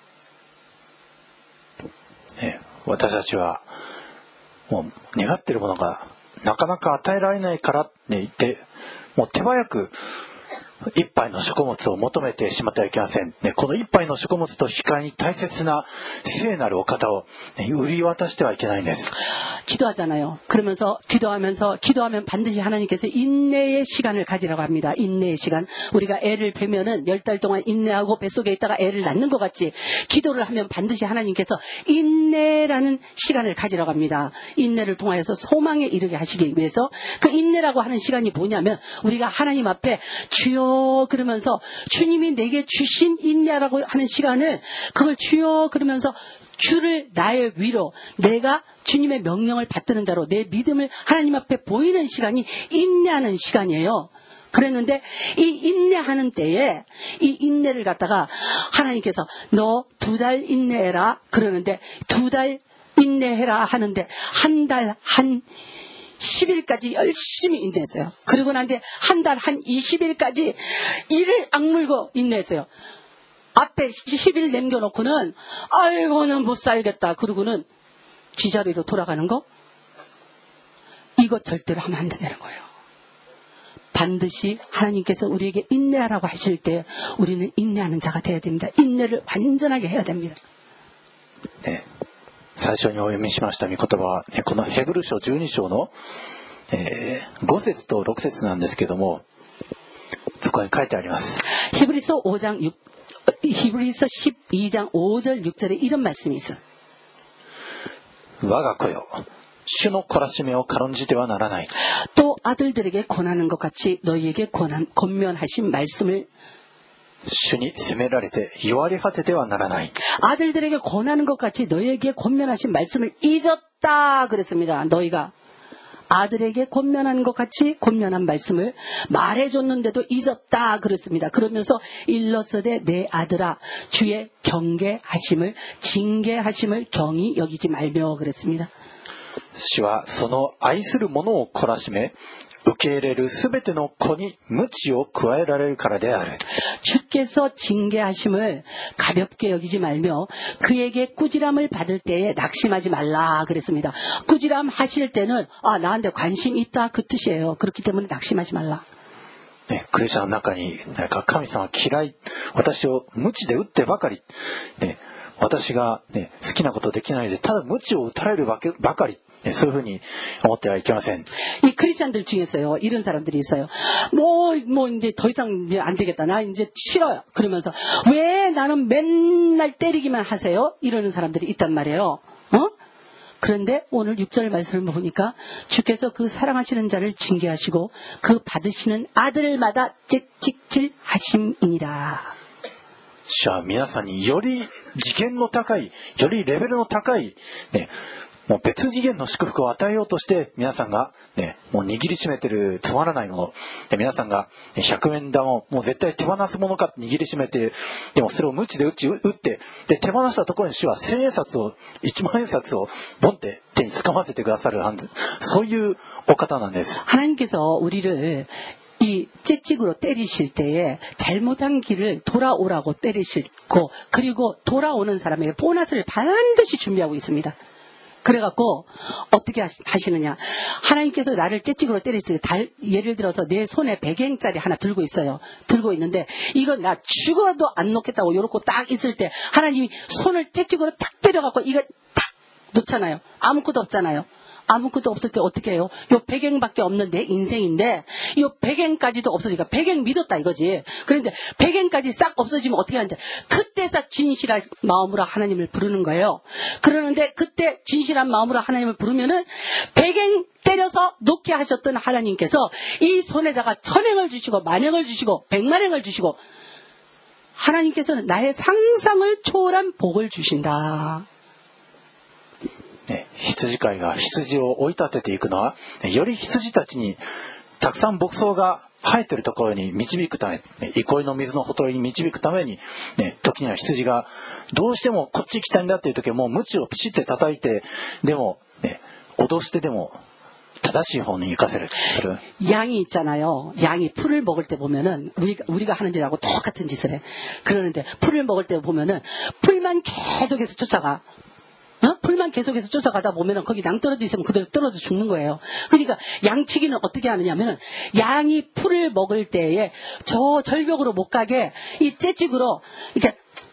네, 私たちはもう願っているものがなかなか与えられないからって言ってもう手早く一杯の食物を求めてしまってはいけません、ね、この一杯の食物と引き換えに大切な聖なるお方を、ね、売り渡してはいけないんです。 기도하잖아요. 그러면서 기도하면서 기도하면 반드시 하나님께서 인내의 시간을 가지라고 합니다. 인내의 시간. 우리가 애를 베면은 열 달 동안 인내하고 뱃속에 있다가 애를 낳는 것 같이 기도를 하면 반드시 하나님께서 인내라는 시간을 가지라고 합니다. 인내를 통하여서 소망에 이르게 하시기 위해서 그 인내라고 하는 시간이 뭐냐면 우리가 하나님 앞에 주여 그러면서 주님이 내게 주신 인내라고 하는 시간을 그걸 주여 그러면서 주를 나의 위로 내가 주님의 명령을 받드는 자로 내 믿음을 하나님 앞에 보이는 시간이 인내하는 시간이에요. 그랬는데 이 인내하는 때에 이 인내를 갖다가 하나님께서 너 두 달 인내해라 그러는데 두 달 인내해라 하는데 한 달 한 십 일까지 열심히 인내했어요. 그리고 난 뒤에 한 달 한 이십 일까지 이를 악물고 인내했어요. 앞에 십 일 남겨놓고는 아이고 난 못 살겠다 그러고는 지자리로 돌아가는 거 이거 절대로 하면 안 된다는 거예요. 반드시 하나님께서 우리에게 인내하라고 하실 때 우리는 인내하는 자가 되어야 됩니다. 인내를 완전하게 해야 됩니다. ね、最初にお読みしました御言葉は、ね、このヘブル書じゅうに章の、えー、ご節とろく節なんですけども、そこに書いてあります。 히브리서 오 장 육, 히브리서 십이 장 오 절 육 절에 이런 말씀이 있어요. 我が子よ、主の懲らしめを軽んじてはならない。 또 아들들에게 권하는 것 같이 너희에게 권한, 권면하신 말씀을 主に責められて弱り果ててはならない。 아들들에게 권하는 것 같이 너희에게 권면하신 말씀을 잊었다 그랬습니다. 너희가 아들에게 권면하는 것 같이 권면한 말씀을 말해줬는데도 잊었다 그랬습니다. 그러면서 일러서되 내 아들아 주의 경계하심을 징계하심을 경히 여기지 말며 그랬습니다. 主はその愛する者を懲らしめ、受け入れるすべての子に鞭を加えられるからである。 주께서 징계하심을 가볍게 여기지 말며 그에게 꾸지람을 받을 때에 낙심하지 말라 그랬습니다. 꾸지람 하실 때는 아 나한테 관심 있다 그 뜻이에요. 그렇기 때문에 낙심하지 말라. ね、クリスチャンの中になんか神様嫌い、私を鞭で打ってばかり、ね、私が、ね、好きなことできないでただ鞭を打たれるばかり、ね、そういうふうに思ってはいけません。 이 크리스찬들 중에서요 이런 사람들이 있어요. 뭐, 뭐 이제 더 이상 이제 안 되겠다. 나 이제 싫어요. 그러면서 왜 나는 맨날 때리기만 하세요? 이러는 사람들이 있단 말이에요. 어? 그런데 오늘 육 절 말씀을 보니까 주께서 그 사랑하시는 자를 징계하시고 그 받으시는 아들마다 채찍질 하심이니라. 主は皆さんにより次元の高い、よりレベルの高い、ね、もう別次元の祝福を与えようとして皆さんが、ね、もう握りしめてるつまらないもので、皆さんがひゃくえん玉をもう絶対手放すものか握りしめて、でもそれを鞭で打ち打ってで手放したところに主は千円札をいちまん円札をボンって手に掴ませてくださるはず、そういうお方なんです。 하나님께서 우리를 이 채찍으로 때리실 때에 잘못한 길을 돌아오라고 때리시고 그리고 돌아오는 사람에게 보너스를 반드시 준비하고 있습니다. 그래갖고 어떻게 하시느냐, 하나님께서 나를 채찍으로 때리실 때 달, 예를 들어서 내 손에 백 엔짜리 하나 들고 있어요. 들고 있는데 이건 나 죽어도 안 놓겠다고 요렇게 딱 있을 때 하나님이 손을 채찍으로 탁 때려갖고 이거 탁 놓잖아요. 아무것도 없잖아요. 아무것도 없을 때 어떻게 해요? 요 백엔밖에 없는 내 인생인데 요 백엔까지도 없어지니까 백엔 믿었다 이거지. 그런데 백엔까지 싹 없어지면 어떻게 하는지 그때서 진실한 마음으로 하나님을 부르는 거예요. 그러는데 그때 진실한 마음으로 하나님을 부르면은 백엔 때려서 놓게 하셨던 하나님께서 이 손에다가 천행을 주시고 만행을 주시고 백만행을 주시고 하나님께서는 나의 상상을 초월한 복을 주신다. ね、羊飼いが羊を追い立てていくのは、より羊たちにたくさん牧草が生えているところに導くため、憩いの水のほとりに導くために、ね、時には羊がどうしてもこっち行きたいんだっていう時はもう鞭をピシッて叩いて、でも、ね、脅してでも正しい方に行かせる。それ 양이 있잖아요. 양이 풀을 먹을 때 보면은 우리가 우리가 하는 짓하고 똑같은 짓을 해. 그러는데 풀을 먹을 때 보면은 풀만 계속해서 쫓아가. 어? 풀만 계속해서 쫓아가다 보면은 거기 양 떨어져 있으면 그대로 떨어져 죽는 거예요. 그러니까 양치기는 어떻게 하느냐면은 양이 풀을 먹을 때에 저 절벽으로 못 가게 이 채찍으로 이렇게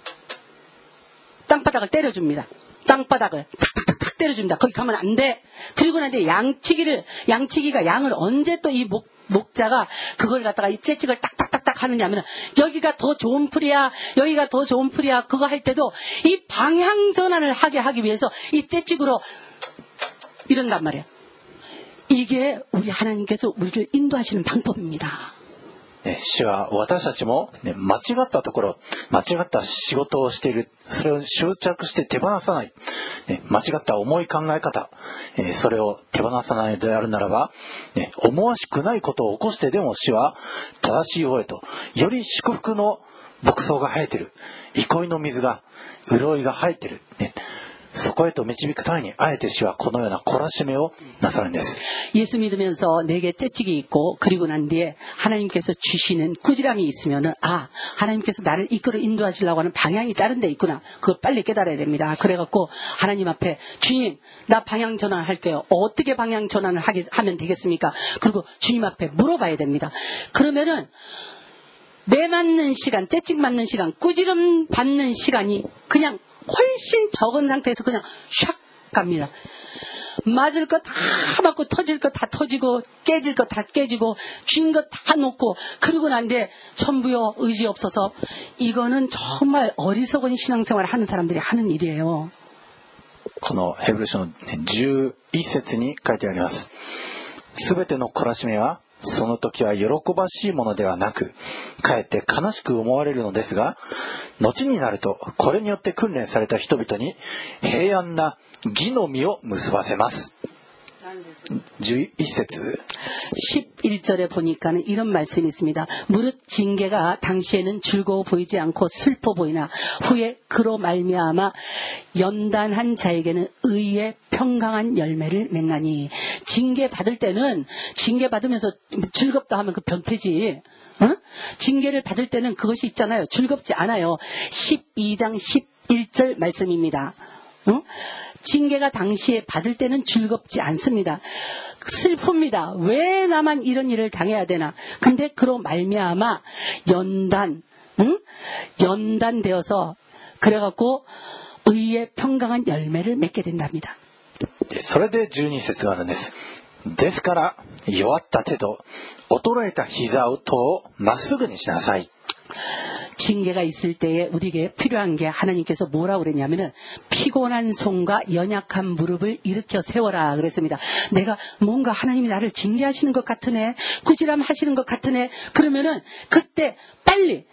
땅바닥을 때려줍니다. 땅바닥을 탁탁탁탁 때려줍니다. 거기 가면 안 돼. 그리고 나는데 양치기를 양치기가 양을 언제 또 이 목 목자가 그걸 갖다가 이 채찍을 딱딱딱딱 하느냐면 여기가 더 좋은 풀이야, 여기가 더 좋은 풀이야 그거 할 때도 이 방향 전환을 하게 하기 위해서 이 채찍으로 이런단 말이에요. 이게 우리 하나님께서 우리를 인도하시는 방법입니다. ね、主は私たちも、ね、間違ったところ、間違った仕事をしている、それを執着して手放さない、ね、間違った重い考え方、えー、それを手放さないのであるならば、ね、思わしくないことを起こしてでも主は正しい方へと、より祝福の牧草が生えている、憩いの水が、潤いが生えている、ね、そこへと導くためにあえて主はこのような懲らしめをなさるんです。 예수 믿으면서 내게 채찍이 있고 그리고 난 뒤에 하나님께서 주시는 꾸지람이 있으면은 아 하나님께서 나를 이끌어 인도하시려고 하는 방향이 다른 데 있구나. 그거 빨리 깨달아야 됩니다. 그래갖고 하나님 앞에 주님 나 방향 전환할게요. 어떻게 방향 전환을 하게, 하면 되겠습니까? 그리고 주님 앞에 물어봐야 됩니다. 그러면은 매 맞는 시간, 채찍 맞는 시간, 꾸지람 받는 시간이 그냥 훨씬 적은 상태에서 그냥 샥 갑니다. 맞을 거 다 맞고 터질 거 다 터지고 깨질 거 다 깨지고 쥔 거 다 놓고 그러고 난데 전부요 의지 없어서 이거는 정말 어리석은 신앙생활을 하는 사람들이 하는 일이에요. このヘブル書のじゅういっ節に書いてあります。すべての懲らしめはその時は喜ばしいものではなく、かえって悲しく思われるのですが、後になるとこれによって訓練された人々に平安な義の実を結ばせます。じゅういっ節 십일 절에 보니까는 이런 말씀이 있습니다. 무릇 징계가 당시에는 즐거워 보이지 않고 슬퍼 보이나 후에 그로 말미암아 연단한 자에게는 의의 평강한 열매를 맺나니. 징계 받을 때는 징계 받으면서 즐겁다 하면 그 변태지. 어? 징계를 받을 때는 그것이 있잖아요. 즐겁지 않아요. 십이 장 십일 절 말씀입니다. 어? 징계가 당시에 받을 때는 즐겁지 않습니다. 슬픕니다. 왜 나만 이런 일을 당해야 되나. 근데 그로 말미암아 연단, 응? 연단되어서 그래갖고 의의 평강한 열매를 맺게 된답니다. それでじゅうに節があるんです。ですから弱った手と衰えた膝をまっすぐにしなさい。 징계가 있을 때에 우리에게 필요한 게 하나님께서 뭐라고 그랬냐면은 피곤한 손과 연약한 무릎을 일으켜 세워라 그랬습니다. 내가 뭔가 하나님이 나를 징계하시는 것 같으네, 꾸지람 하시는 것 같으네. 그러면은 그때 빨리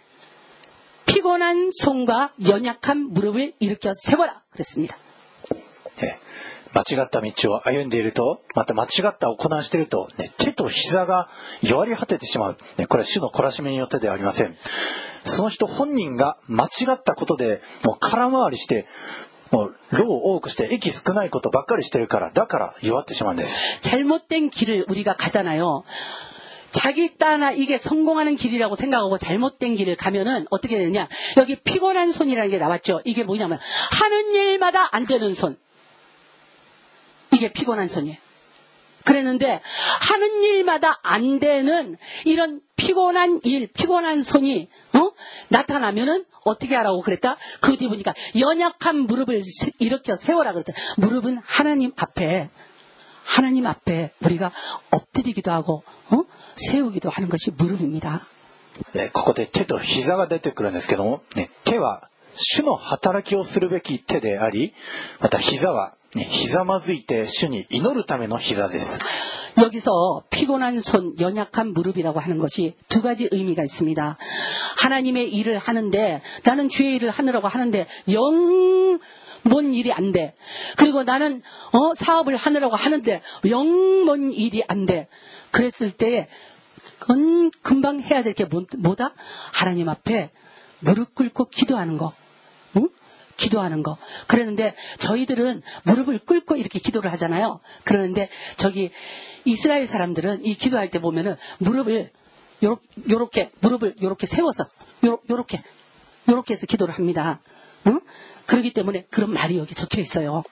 피곤한 손과 연약한 무릎을 일으켜 세워라 그랬습니다. 네. 間違った道を歩んでいると、また間違った行いをしていると、ね、手と膝が弱り果ててしまう、ね、これは主の懲らしめによってではありません。その人本人が間違ったことでもう空回りしてもう労を多くして息少ないことばっかりしてるから、だから弱ってしまうんです。 잘못된 길을 우리가 가잖아요. 자기 따나 이게 성공하는 길이라고 생각하고 잘못된 길을 가면은 어떻게 되느냐. 여기 피곤한 손이라는 게 나왔죠. 이게 뭐냐면 하는 일마다 안 되는 손. 이게 피곤한 손이에요. 그랬는데 하는 일마다 안 되는 이런 피곤한 일, 피곤한 손이 어? 나타나면은 어떻게 하라고 그랬다? 그 뒤에 보니까 연약한 무릎을 일으켜 세워라 그랬다. 무릎은 하나님 앞에 하나님 앞에 우리가 엎드리기도 하고 어? 세우기도 하는 것이 무릎입니다. 네, ここで手と膝が出てくるんですけども、ね、手は主の働きをするべき手であり、また膝はひざまずいて主に祈るための膝です。 여기서 피곤한 손, 연약한 무릎이라고 하는 것이 두 가지 의미가 있습니다. 하나님의 일을 하는데 나는 주의 일을 하느라고 하는데 영 뭔 일이 안 돼. 그리고 나는 어, 사업을 하느라고 하는데 영 뭔 일이 안 돼. 그랬을 때 건 금방 해야 될 게 뭐다? 하나님 앞에 무릎 꿇고 기도하는 거. 응? 기도하는 거. 그랬는데 저희들은 무릎을 꿇고 이렇게 기도를 하잖아요. 그러는데 저기 이스라엘 사람들은 이 기도할 때 보면은 무릎을 요렇게, 요렇게 무릎을 요렇게 세워서 요, 요렇게 요렇게 해서 기도를 합니다. 응? 그렇기 때문에 그런 말이 여기 적혀 있어요.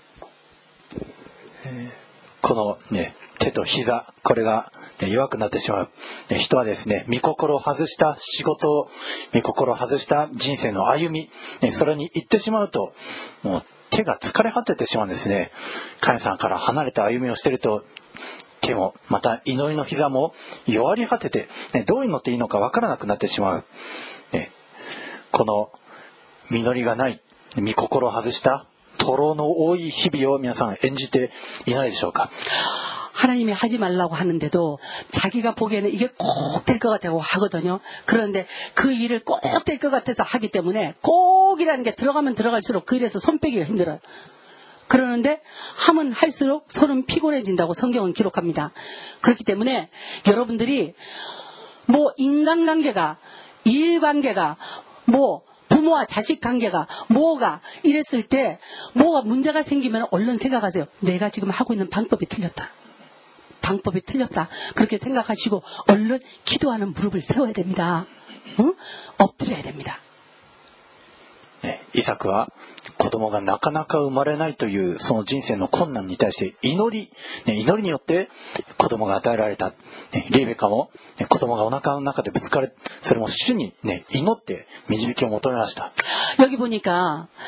このね、手と膝、これが、ね、弱くなってしまう、ね、人はですね、御心を外した仕事、御心を外した人生の歩み、ね、それに行ってしまうと、もう手が疲れ果ててしまうんですね。神様から離れた歩みをしていると、手もまた祈りの膝も弱り果てて、ね、どう祈っていいのかわからなくなってしまう、ね、この実りがない御心を外した徒労の多い日々を皆さん演じていないでしょうか。 하나님이 하지 말라고 하는데도 자기가 보기에는 이게 꼭 될 것 같다고 하거든요. 그런데 그 일을 꼭 될 것 같아서 하기 때문에 꼭이라는 게 들어가면 들어갈수록 그 일에서 손 빼기가 힘들어요. 그러는데 하면 할수록 손은 피곤해진다고 성경은 기록합니다. 그렇기 때문에 여러분들이 뭐 인간관계가, 일관계가, 뭐 부모와 자식 관계가 뭐가 이랬을 때 뭐가 문제가 생기면 얼른 생각하세요. 내가 지금 하고 있는 방법이 틀렸다. 방법이 틀렸다. 그렇게 생각하시고 얼른 기도하는 무릎을 세워야 됩니다. 응? 엎드려야 됩니다. イサクは子供がなかなか生まれないというその人生の困難に対して祈り、ね、祈りによって子供が与えられた、ね、リベカも、ね、子供がお腹の中でぶつかる、それも主に、ね、祈って導きを求めました。 여기 보니까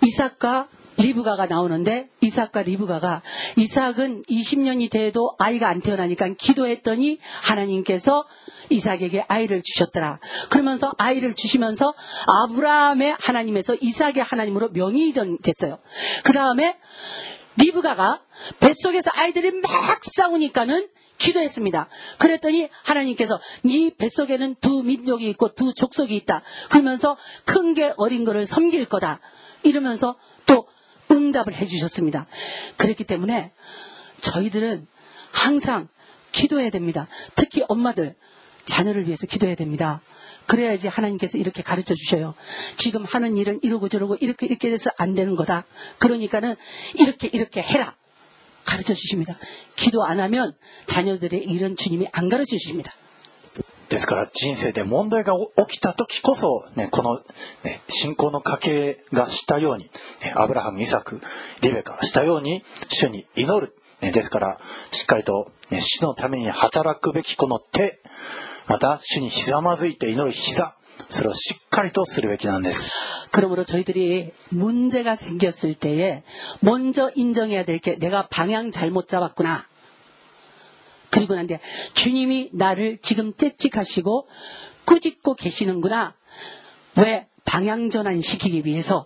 이삭과 리브가가 나오는데 이삭과 리브가가 이삭은 이십 년이 돼도 아이가 안 태어나니까 기도했더니 하나님께서 이삭에게 아이를 주셨더라. 그러면서 아이를 주시면서 아브라함의 하나님에서 이삭의 하나님으로 명의 이전됐어요. 그 다음에 리브가가 뱃속에서 아이들이 막 싸우니까는 기도했습니다. 그랬더니 하나님께서 네 뱃속에는 두 민족이 있고 두 족속이 있다. 그러면서 큰 게 어린 거를 섬길 거다. 이러면서 또 응답을 해주셨습니다. 그렇기 때문에 저희들은 항상 기도해야 됩니다. 특히 엄마들, 자녀를 위해서 기도해야 됩니다. 그래야지 하나님께서 이렇게 가르쳐 주셔요. 지금 하는 일은 이러고 저러고 이렇게 이렇게 해서 안 되는 거다. 그러니까는 이렇게 이렇게 해라. 가르쳐 주십니다. 기도 안 하면 자녀들의 일은 주님이 안 가르쳐 주십니다. ですから人生で問題が起きた時こそ、ね、この、ね、信仰の家系がしたように、ね、アブラハム、イサク、リベカがしたように主に祈る、ね、ですからしっかりと、ね、主のために働くべきこの手、また主にひざまずいて祈る膝、それをしっかりとするべきなんです。 그러므로 저희들이 문제가 생겼을 때에 먼저 인정해야 될 게 내가 방향 잘못 잡았구나. 그리고 난데 주님이 나를 지금 째찍하시고 꾸짖고 계시는구나. 왜? 방향 전환 시키기 위해서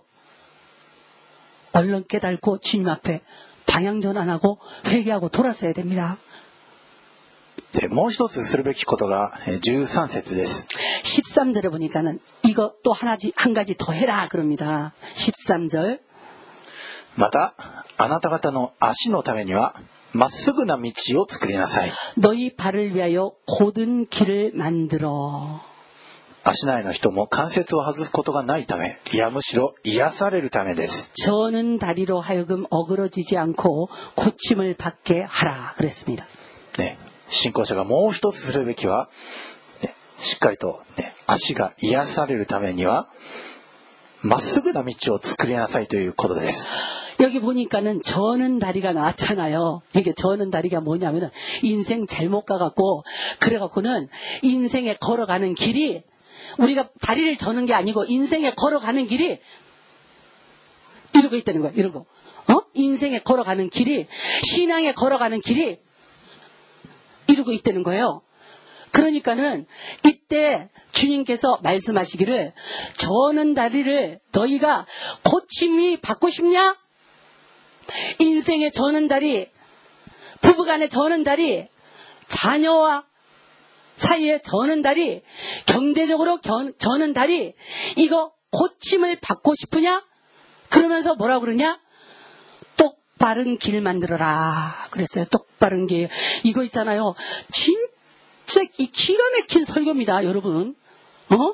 얼른 깨닫고 주님 앞에 방향 전환하고 회개하고 돌아서야 됩니다. でもう一つするべきことがじゅうさん節です。 십삼 절에 보니까는 이거 또 하나지 한 가지 더 해라 그럽니다. 십삼 절. またあなた方の足のためにはまっすぐな道を作りなさい。 너희 발을 위하여 곧은 길을 만들어. 足内の人も関節を外すことがないため、いやむしろ癒されるためです。 저는 다리로 하여금 어그러지지 않고 고침을 받게 하라 그랬습니다. ね、信仰者がもう一つするべきは、ね、しっかりと、ね、足が癒されるためにはまっすぐな道を作りなさいということです。 여기 보니까는 저는 다리가 나왔잖아요. 이게 저는 다리가 뭐냐면은 인생 잘못 가갖고 그래갖고는 인생에 걸어가는 길이 우리가 다리를 저는 게 아니고 인생에 걸어가는 길이 이러고 있다는 거예요. 이러고 어? 인생에 걸어가는 길이 신앙에 걸어가는 길이 이러고 있다는 거예요. 그러니까는 이때 주님께서 말씀하시기를 저는 다리를 너희가 고침이 받고 싶냐? 인생의 저는 다리, 부부간의 저는 다리, 자녀와 사이의 저는 다리, 경제적으로 견, 저는 다리, 이거 고침을 받고 싶으냐? 그러면서 뭐라고 그러냐? 똑바른 길 만들어라. 그랬어요. 똑바른 길. 이거 있잖아요. 진짜 이 기가 막힌 설교입니다, 여러분. 어?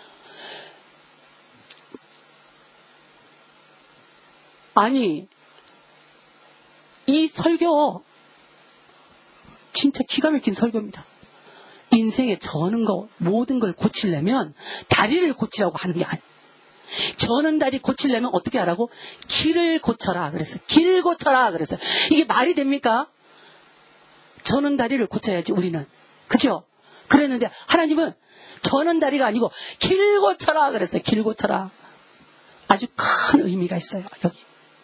아니, 이 설교 진짜 기가 막힌 설교입니다. 인생에 저는 거 모든 걸 고치려면 다리를 고치라고 하는 게 아니에요. 저는 다리 고치려면 어떻게 하라고? 길을 고쳐라 그랬어요. 길 고쳐라 그랬어요. 이게 말이 됩니까? 저는 다리를 고쳐야지 우리는. 그죠? 그랬는데 하나님은 저는 다리가 아니고 길 고쳐라 그랬어요. 길 고쳐라. 아주 큰 의미가 있어요. 여기.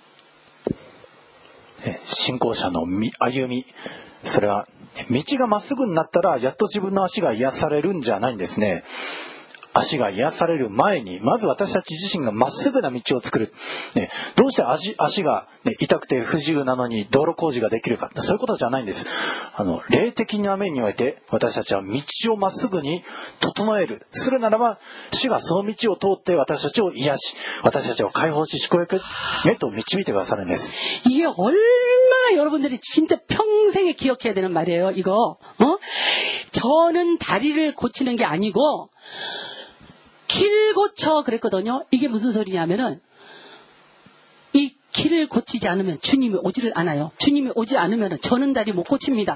信仰者の歩み、それは道がまっすぐになったらやっと自分の足が癒されるんじゃないんですね。足が癒される前にまず私たち自身がまっすぐな道を作る、ね、どうして 足, 足が、ね、痛くて不自由なのに道路工事ができるか、そういうことじゃないんです。あの霊的な面において私たちは道をまっすぐに整えるするならば主がその道を通って私たちを癒し私たちを解放し祝福へと導いてくださるんです。 이게 얼마나 여러분들이 진짜 평생에 기억해야 되는 말이에요. 이거 어? 저는 다리를 고치는 게 아니고 길 고쳐 그랬거든요. 이게 무슨 소리냐면은 이 길을 고치지 않으면 주님이 오지를 않아요. 주님이 오지 않으면 저는 다리 못 고칩니다.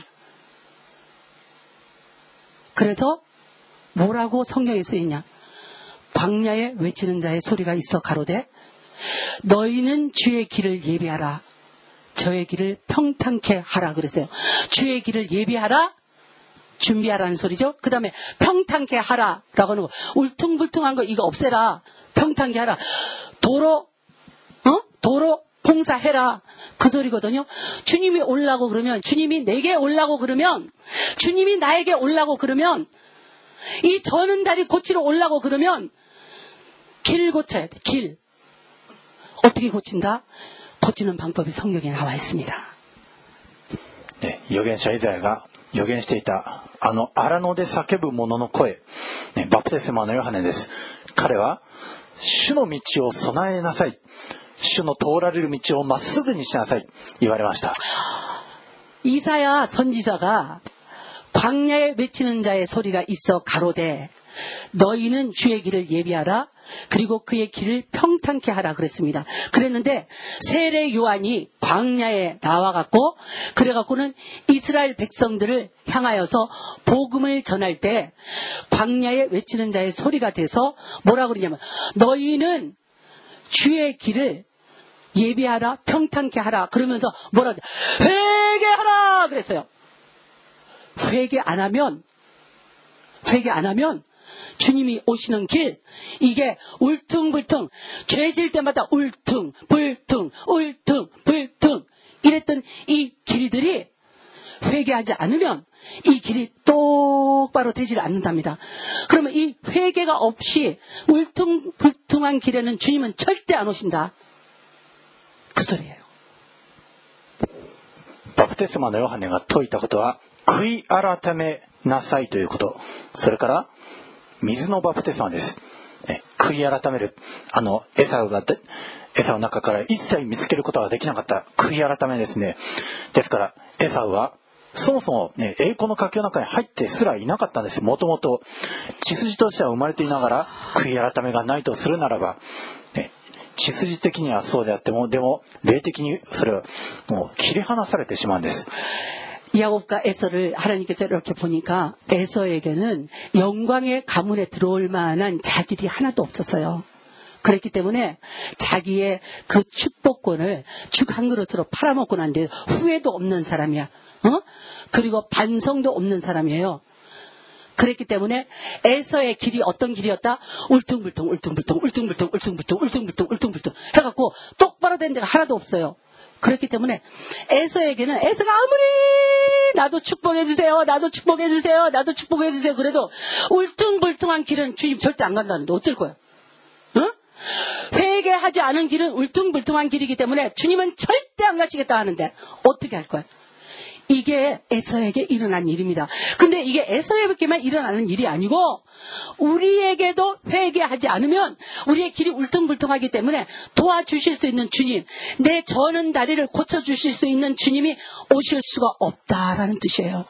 그래서 뭐라고 성경에 쓰이냐? 광야에 외치는 자의 소리가 있어 가로되 너희는 주의 길을 예비하라. 저의 길을 평탄케 하라 그랬어요. 주의 길을 예비하라. 준비하라는 소리죠. 그 다음에 평탄케 하라라고 하는 거. 울퉁불퉁한 거 이거 없애라. 평탄케 하라. 도로 어? 도로 봉사해라. 그 소리거든요. 주님이 올라고 그러면, 주님이 내게 올라고 그러면, 주님이 나에게 올라고 그러면, 이 저는 다리 고치러 올라고 그러면 길 고쳐야 돼. 길. 어떻게 고친다? 고치는 방법이 성경에 나와 있습니다. 네,預言者イザヤが預言していたあの荒野で叫ぶ者の声、ね、バプテスマのヨハネです。彼は主の道を備えなさい、主の通られる道をまっすぐにしなさい言われました。 이사야 선지자가 광야에 외치는 자의 소리가 있어 가로되 너희는 주의 길을 예비하라, 그리고 그의 길을 평탄케 하라 그랬습니다. 그랬는데 세례 요한이 광야에 나와갖고 그래갖고는 이스라엘 백성들을 향하여서 복음을 전할 때 광야에 외치는 자의 소리가 돼서 뭐라고 그러냐면 너희는 주의 길을 예비하라, 평탄케 하라 그러면서 뭐라 회개하라 그랬어요. 회개 안 하면 회개 안 하면 주님이 오시는 길, 이게 울퉁불퉁, 죄 질 때마다 울퉁, 불퉁, 울퉁, 불퉁 이랬던 이 길들이 회개하지 않으면 이 길이 똑바로 되질 않는답니다. 그러면 이 회개가 없이 울퉁불퉁한 길에는 주님은 절대 안 오신다. 그 소리예요. バプテスマのヨハネが説いたことは悔い改めなさいということ、それから水のバプテスマです。え悔い改める、あのエサウがエサウの中から一切見つけることができなかった悔い改めですね。ですからエサウはそもそも、ね、栄光の家系の中に入ってすらいなかったんです。もともと血筋としては生まれていながら悔い改めがないとするならば、ね、血筋的にはそうであっても、でも霊的にそれはもう切り離されてしまうんです。 야곱과 에서를 하나님께서 이렇게 보니까 에서에게는 영광의 가문에 들어올 만한 자질이 하나도 없었어요. 그랬기 때문에 자기의 그 축복권을 죽 한 그릇으로 팔아먹고 난 뒤에 후회도 없는 사람이야. 어? 그리고 반성도 없는 사람이에요. 그랬기 때문에 에서의 길이 어떤 길이었다? 울퉁불퉁 울퉁불퉁 울퉁불퉁 울퉁불퉁 울퉁불퉁 울퉁불퉁 해갖고 똑바로 된 데가 하나도 없어요. 그렇기 때문에 에서에게는 에서가 아무리 나도 축복해주세요, 나도 축복해주세요, 나도 축복해주세요 그래도 울퉁불퉁한 길은 주님 절대 안 간다는데 어쩔 거야? 응? 회개하지 않은 길은 울퉁불퉁한 길이기 때문에 주님은 절대 안 가시겠다 하는데 어떻게 할 거야? 이게 에서에게 일어난 일입니다. 근데 이게 에서에게만 일어나는 일이 아니고 우리에게도 회개하지 않으면 우리의 길이 울퉁불퉁하기 때문에 도와주실 수 있는 주님, 내 저는 다리를 고쳐주실 수 있는 주님이 오실 수가 없다라는 뜻이에요.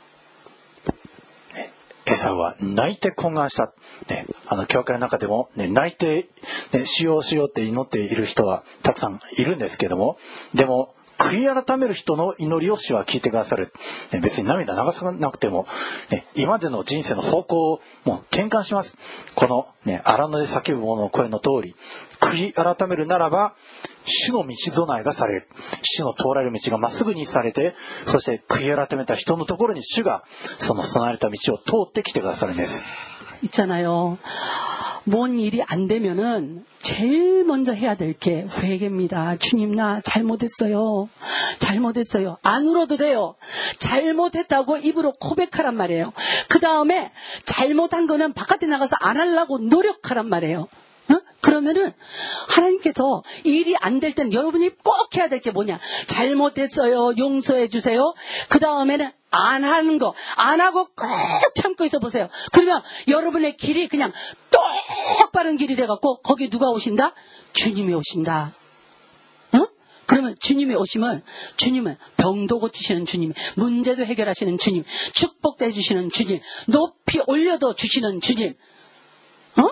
エサウは泣いて懇願した、ね、あの教会の中でも、ね、泣いて、ね、しようしようって祈っている人はたくさんいるんですけども、でも悔い改める人の祈りを主は聞いてくださる、ね、別に涙流さなくても、ね、今までの人生の方向をもう転換します。この、ね、荒野で叫ぶ者の声の通り悔い改めるならば主の道備えがされる、主の通られる道がまっすぐにされて、そして悔い改めた人のところに主がその備えられた道を通ってきてくださるんです。 있잖아요. 뭔 일이 안 되면은 제일 먼저 해야 될 게 회개입니다. 주님 나 잘못했어요. 잘못했어요. 안 울어도 돼요. 잘못했다고 입으로 고백하란 말이에요. 그 다음에 잘못한 거는 바깥에 나가서 안 하려고 노력하란 말이에요. 어? 그러면은 하나님께서 일이 안 될 땐 여러분이 꼭 해야 될 게 뭐냐? 잘못했어요. 용서해 주세요. 그 다음에는 안 하는 거, 안 하고 꼭 참고 있어 보세요. 그러면 여러분의 길이 그냥 똑바른 길이 돼갖고 거기 누가 오신다? 주님이 오신다. 어? 그러면 주님이 오시면 주님은 병도 고치시는 주님, 문제도 해결하시는 주님, 축복도 해주시는 주님, 높이 올려도 주시는 주님. 어?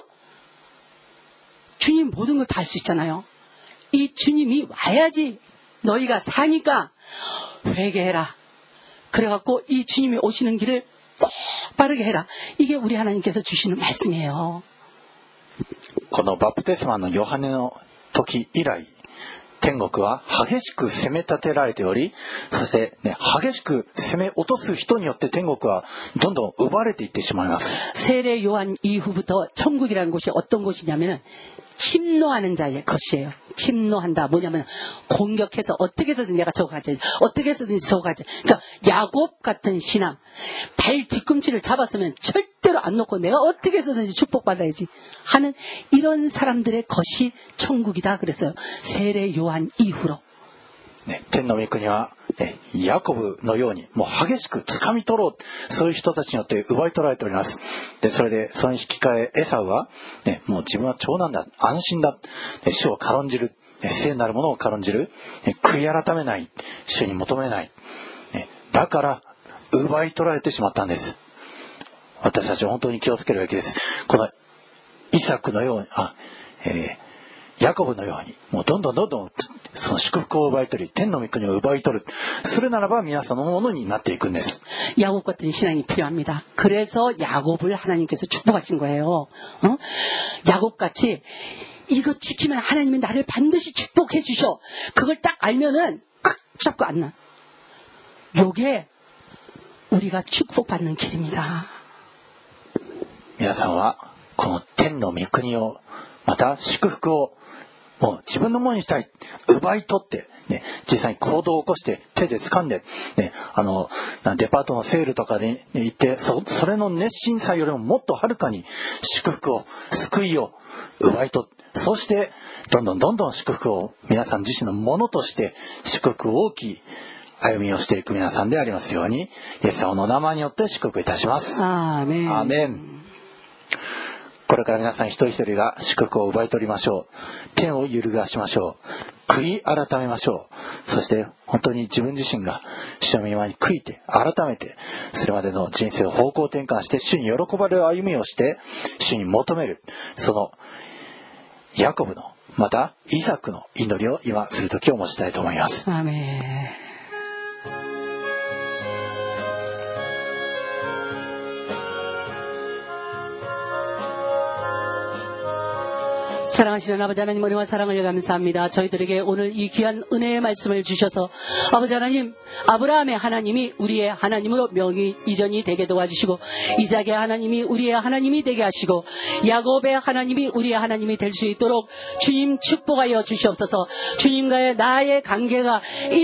주님 모든 걸 다 할 수 있잖아요. 이 주님이 와야지 너희가 사니까 회개해라. 그래갖고 이 주님이 오시는 길을 똑바르게 해라. 이게 우리 하나님께서 주시는 말씀이에요. このバプテスマのヨハネの時以来、天国は激しく攻め立てられており、そして、ね、激しく攻め落とす人によって天国はどんどん奪われていってしまいます。 세례 요한 이후부터 천국이라는 곳이 어떤 곳이냐면은 침노하는 자의 것이에요. 침노한다. 뭐냐면 공격해서 어떻게 해서든 내가 저거 가져야지. 어떻게 해서든지 저거 가져. 그러니까 야곱 같은 신앙. 발 뒤꿈치를 잡았으면 절대로 안 놓고 내가 어떻게 해서든지 축복받아야지 하는 이런 사람들의 것이 천국이다 그랬어요. 세례 요한 이후로. ね、天の御国は、ね、ヤコブのようにもう激しく掴み取ろう、そういう人たちによって奪い取られております。で、それでその引き換えエサウは、ね、もう自分は長男だ、安心だ、ね、主を軽んじる、ね、聖なるものを軽んじる、ね、悔い改めない、主に求めない、ね、だから奪い取られてしまったんです。私たちは本当に気をつけるべきです。このイサクのように、あ、えー、ヤコブのように、もうどんどんどんどんその祝福を奪い取り、天の御国を奪い取る。するならば皆さんのものになっていくんです。 야곱 같은 신앙이 필요합니다. 그래서 야곱을 하나님께서 축복하신 거예요. 어? 야곱같이 이거 지키면 하나님이 나를 반드시 축복해 주셔. 그걸 딱 알면은 꽉 잡고 안 나. 요게 우리가 축복받는 길입니다. 皆さんはこの天の御国をまた祝福をもう自分のものにしたい、奪い取って、ね、実際に行動を起こして手で掴んで、ね、あのデパートのセールとかに行って そ, それの熱心さよりももっとはるかに祝福を、救いを奪い取って、そしてどんどんどんどん祝福を皆さん自身のものとして祝福大きい歩みをしていく皆さんでありますように、イエス様の名前によって祝福いたします。 アーメン。 アーメン。これから皆さん一人一人が祝福を奪い取りましょう。天を揺るがしましょう。悔い改めましょう。そして本当に自分自身が主の御前に悔いて改めて、それまでの人生を方向転換して主に喜ばれる歩みをして主に求める、そのヤコブのまたイサクの祈りを今する時を持ちたいと思います。 アーメン。 사랑하시는 아버지 하나님, 은혜와 사랑을 감사합니다. 저희들에게 오늘 이 귀한 은혜의 말씀을 주셔서 아버지 하나님, 아브라함의 하나님이 우리의 하나님으로 명의 이전이 되게 도와주시고, 이삭의 하나님이 우리의 하나님이 되게 하시고, 야곱의 하나님이 우리의 하나님이 될 수 있도록 주님 축복하여 주시옵소서. 주님과의 나의 관계가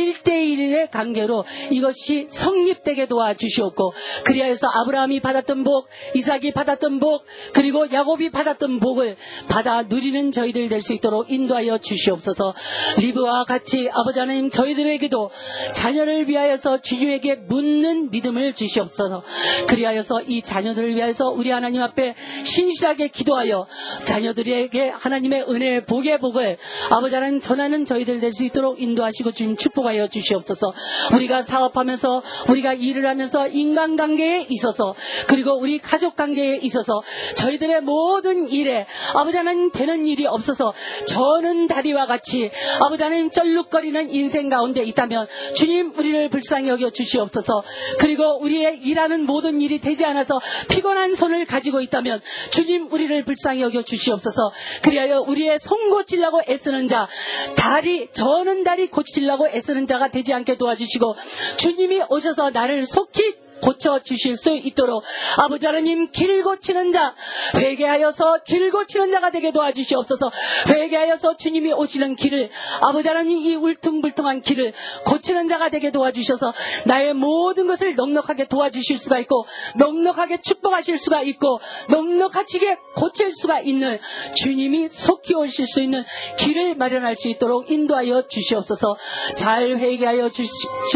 일대일의 관계로 이것이 성립되게 도와주시옵고, 그리하여서 아브라함이 받았던 복, 이삭이 받았던 복, 그리고 야곱이 받았던 복을 받아 누리는 저희들 될 수 있도록 인도하여 주시옵소서. 리브와 같이 아버지 하나님, 저희들에게도 자녀를 위하여서 주님에게 묻는 믿음을 주시옵소서. 그리하여서 이 자녀들을 위하여서 우리 하나님 앞에 신실하게 기도하여 자녀들에게 하나님의 은혜의 복의 복을 아버지 하나님 전하는 저희들 될 수 있도록 인도하시고 주님 축복하여 주시옵소서. 우리가 사업하면서, 우리가 일을 하면서 인간관계에 있어서, 그리고 우리 가족관계에 있어서 저희들의 모든 일에 아버지 하나님 되는 일이 없어서 저는 다리와 같이 아버지 하나님 쩔룩거리는 인생 가운데 있다면 주님 우리를 불쌍히 여겨 주시옵소서. 그리고 우리의 일하는 모든 일이 되지 않아서 피곤한 손을 가지고 있다면 주님 우리를 불쌍히 여겨 주시옵소서. 그리하여 우리의 손 고치려고 애쓰는 자, 다리, 저는 다리 고치려고 애쓰는 자가 되지 않게 도와주시고, 주님이 오셔서 나를 속히 고쳐주실 수 있도록 아버지 하나님, 길 고치는 자, 회개하여서 길 고치는 자가 되게 도와주시옵소서. 회개하여서 주님이 오시는 길을, 아버지 하나님 이 울퉁불퉁한 길을 고치는 자가 되게 도와주셔서 나의 모든 것을 넉넉하게 도와주실 수가 있고, 넉넉하게 축복하실 수가 있고, 넉넉하게 고칠 수가 있는 주님이 속히 오실 수 있는 길을 마련할 수 있도록 인도하여 주시옵소서. 잘 회개하여 주시,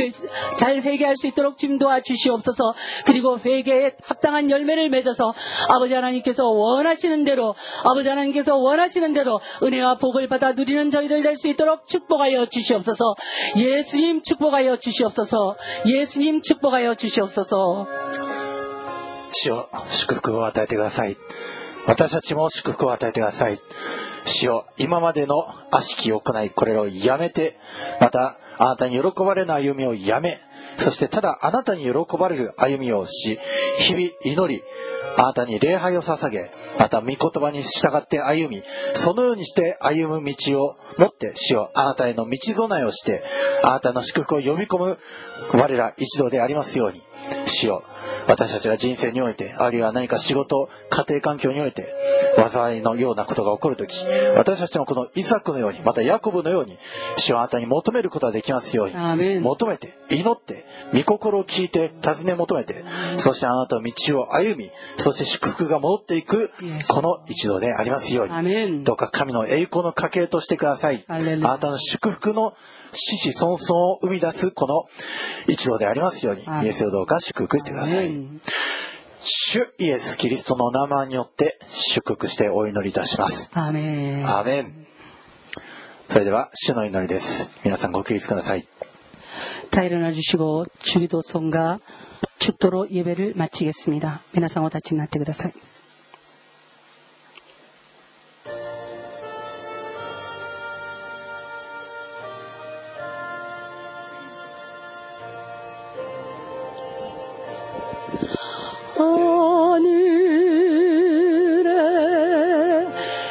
잘 회개할 수 있도록 좀 도와주시옵소서. 그리고 회개에 합당한 열매를 맺어서 아버지 하나님께서 원하시는 대로, 아버지 하나님께서 원하시는 대로 은혜와 복을 받아 누리는 저희들 될 수 있도록 축복하여 주시옵소서. 예수님 축복하여 주시옵소서. 예수님 축복하여 주시옵소서. 主よ、祝福を与えてください。私たちも祝福を与えてください。主よ、今までの悪しき行い、これらをやめて、またあなたに喜ばれない歩みをやめ、そしてただあなたに喜ばれる歩みをし、日々祈り、あなたに礼拝を捧げ、また御言葉に従って歩み、そのようにして歩む道を持って、主よ、あなたへの道備えをして、あなたの祝福を呼び込む我ら一同でありますように。主よ、 私たちが人生において、あるいは何か仕事、家庭環境において災いのようなことが起こるとき、私たちもこのイサクのように、またヤコブのように、主はあなたに求めることができますように、 アーメン。 求めて、祈って、御心を聞いて、尋ね求めて、そしてあなたの道を歩み、そして祝福が戻っていくこの一度でありますように、 アーメン。 どうか神の栄光の家系としてください。あなたの祝福の子々孫々を生み出すこの一度でありますように、イエスをどうか祝福してください。主イエスキリストの名前によって祝福してお祈りいたします。 アーメン。 アーメン。それでは主の祈りです。皆さんご起立ください。 다 일어나 주시고 주기도성과 축도로 예배를 마치겠습니다. 皆さんお立ちになってください. 하늘에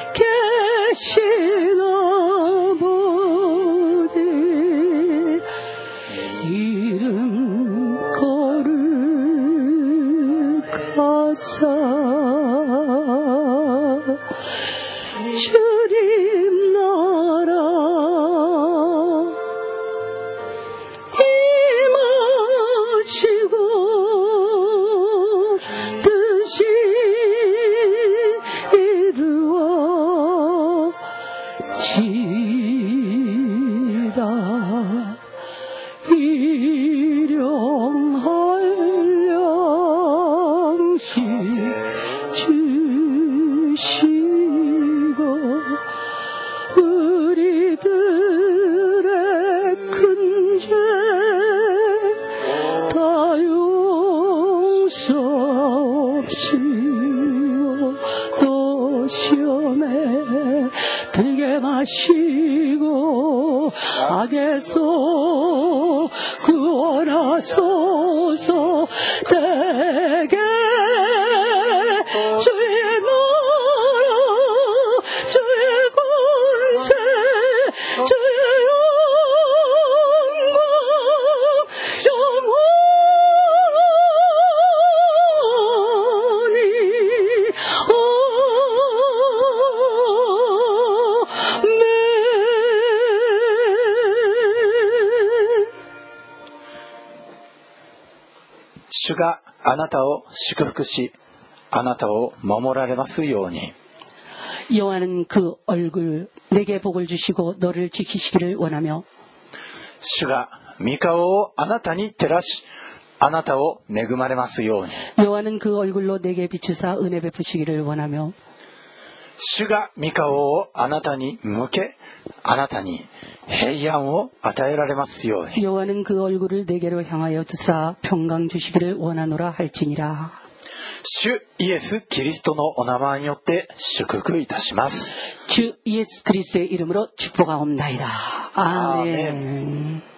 계신 아버지 이름 거룩하사 주님 나라 임하시고 뜻이 이루어지다 일용할 양식 주시고 우리들의 큰 죄 다 용서하시고 또 시험에 들게 마시고 악에서 구원하소서. 대개 주의 나라 주의 권세 주의 영광 영원히 主があなたを祝福し、あなたを守られますように。 여호와는 그 얼굴 내게 복을 주시고 너를 지키시기를 원하며 主が御顔をあなたに照らし、あなたを恵まれますように。 여호와는 그 얼굴로 내게 비추사 은혜 베푸시기를 원하며 主が御顔をあなたに向け、あなたに平安を与えられますように。 여호와는 그 얼굴을 내게로 향하여 드사 평강 주시기를 원하노라 할지니라. 主イエスキリストのお名前によって祝福いたします。 주 예수 그리스도의 이름으로 축복하옵나이다. 아멘. 아멘.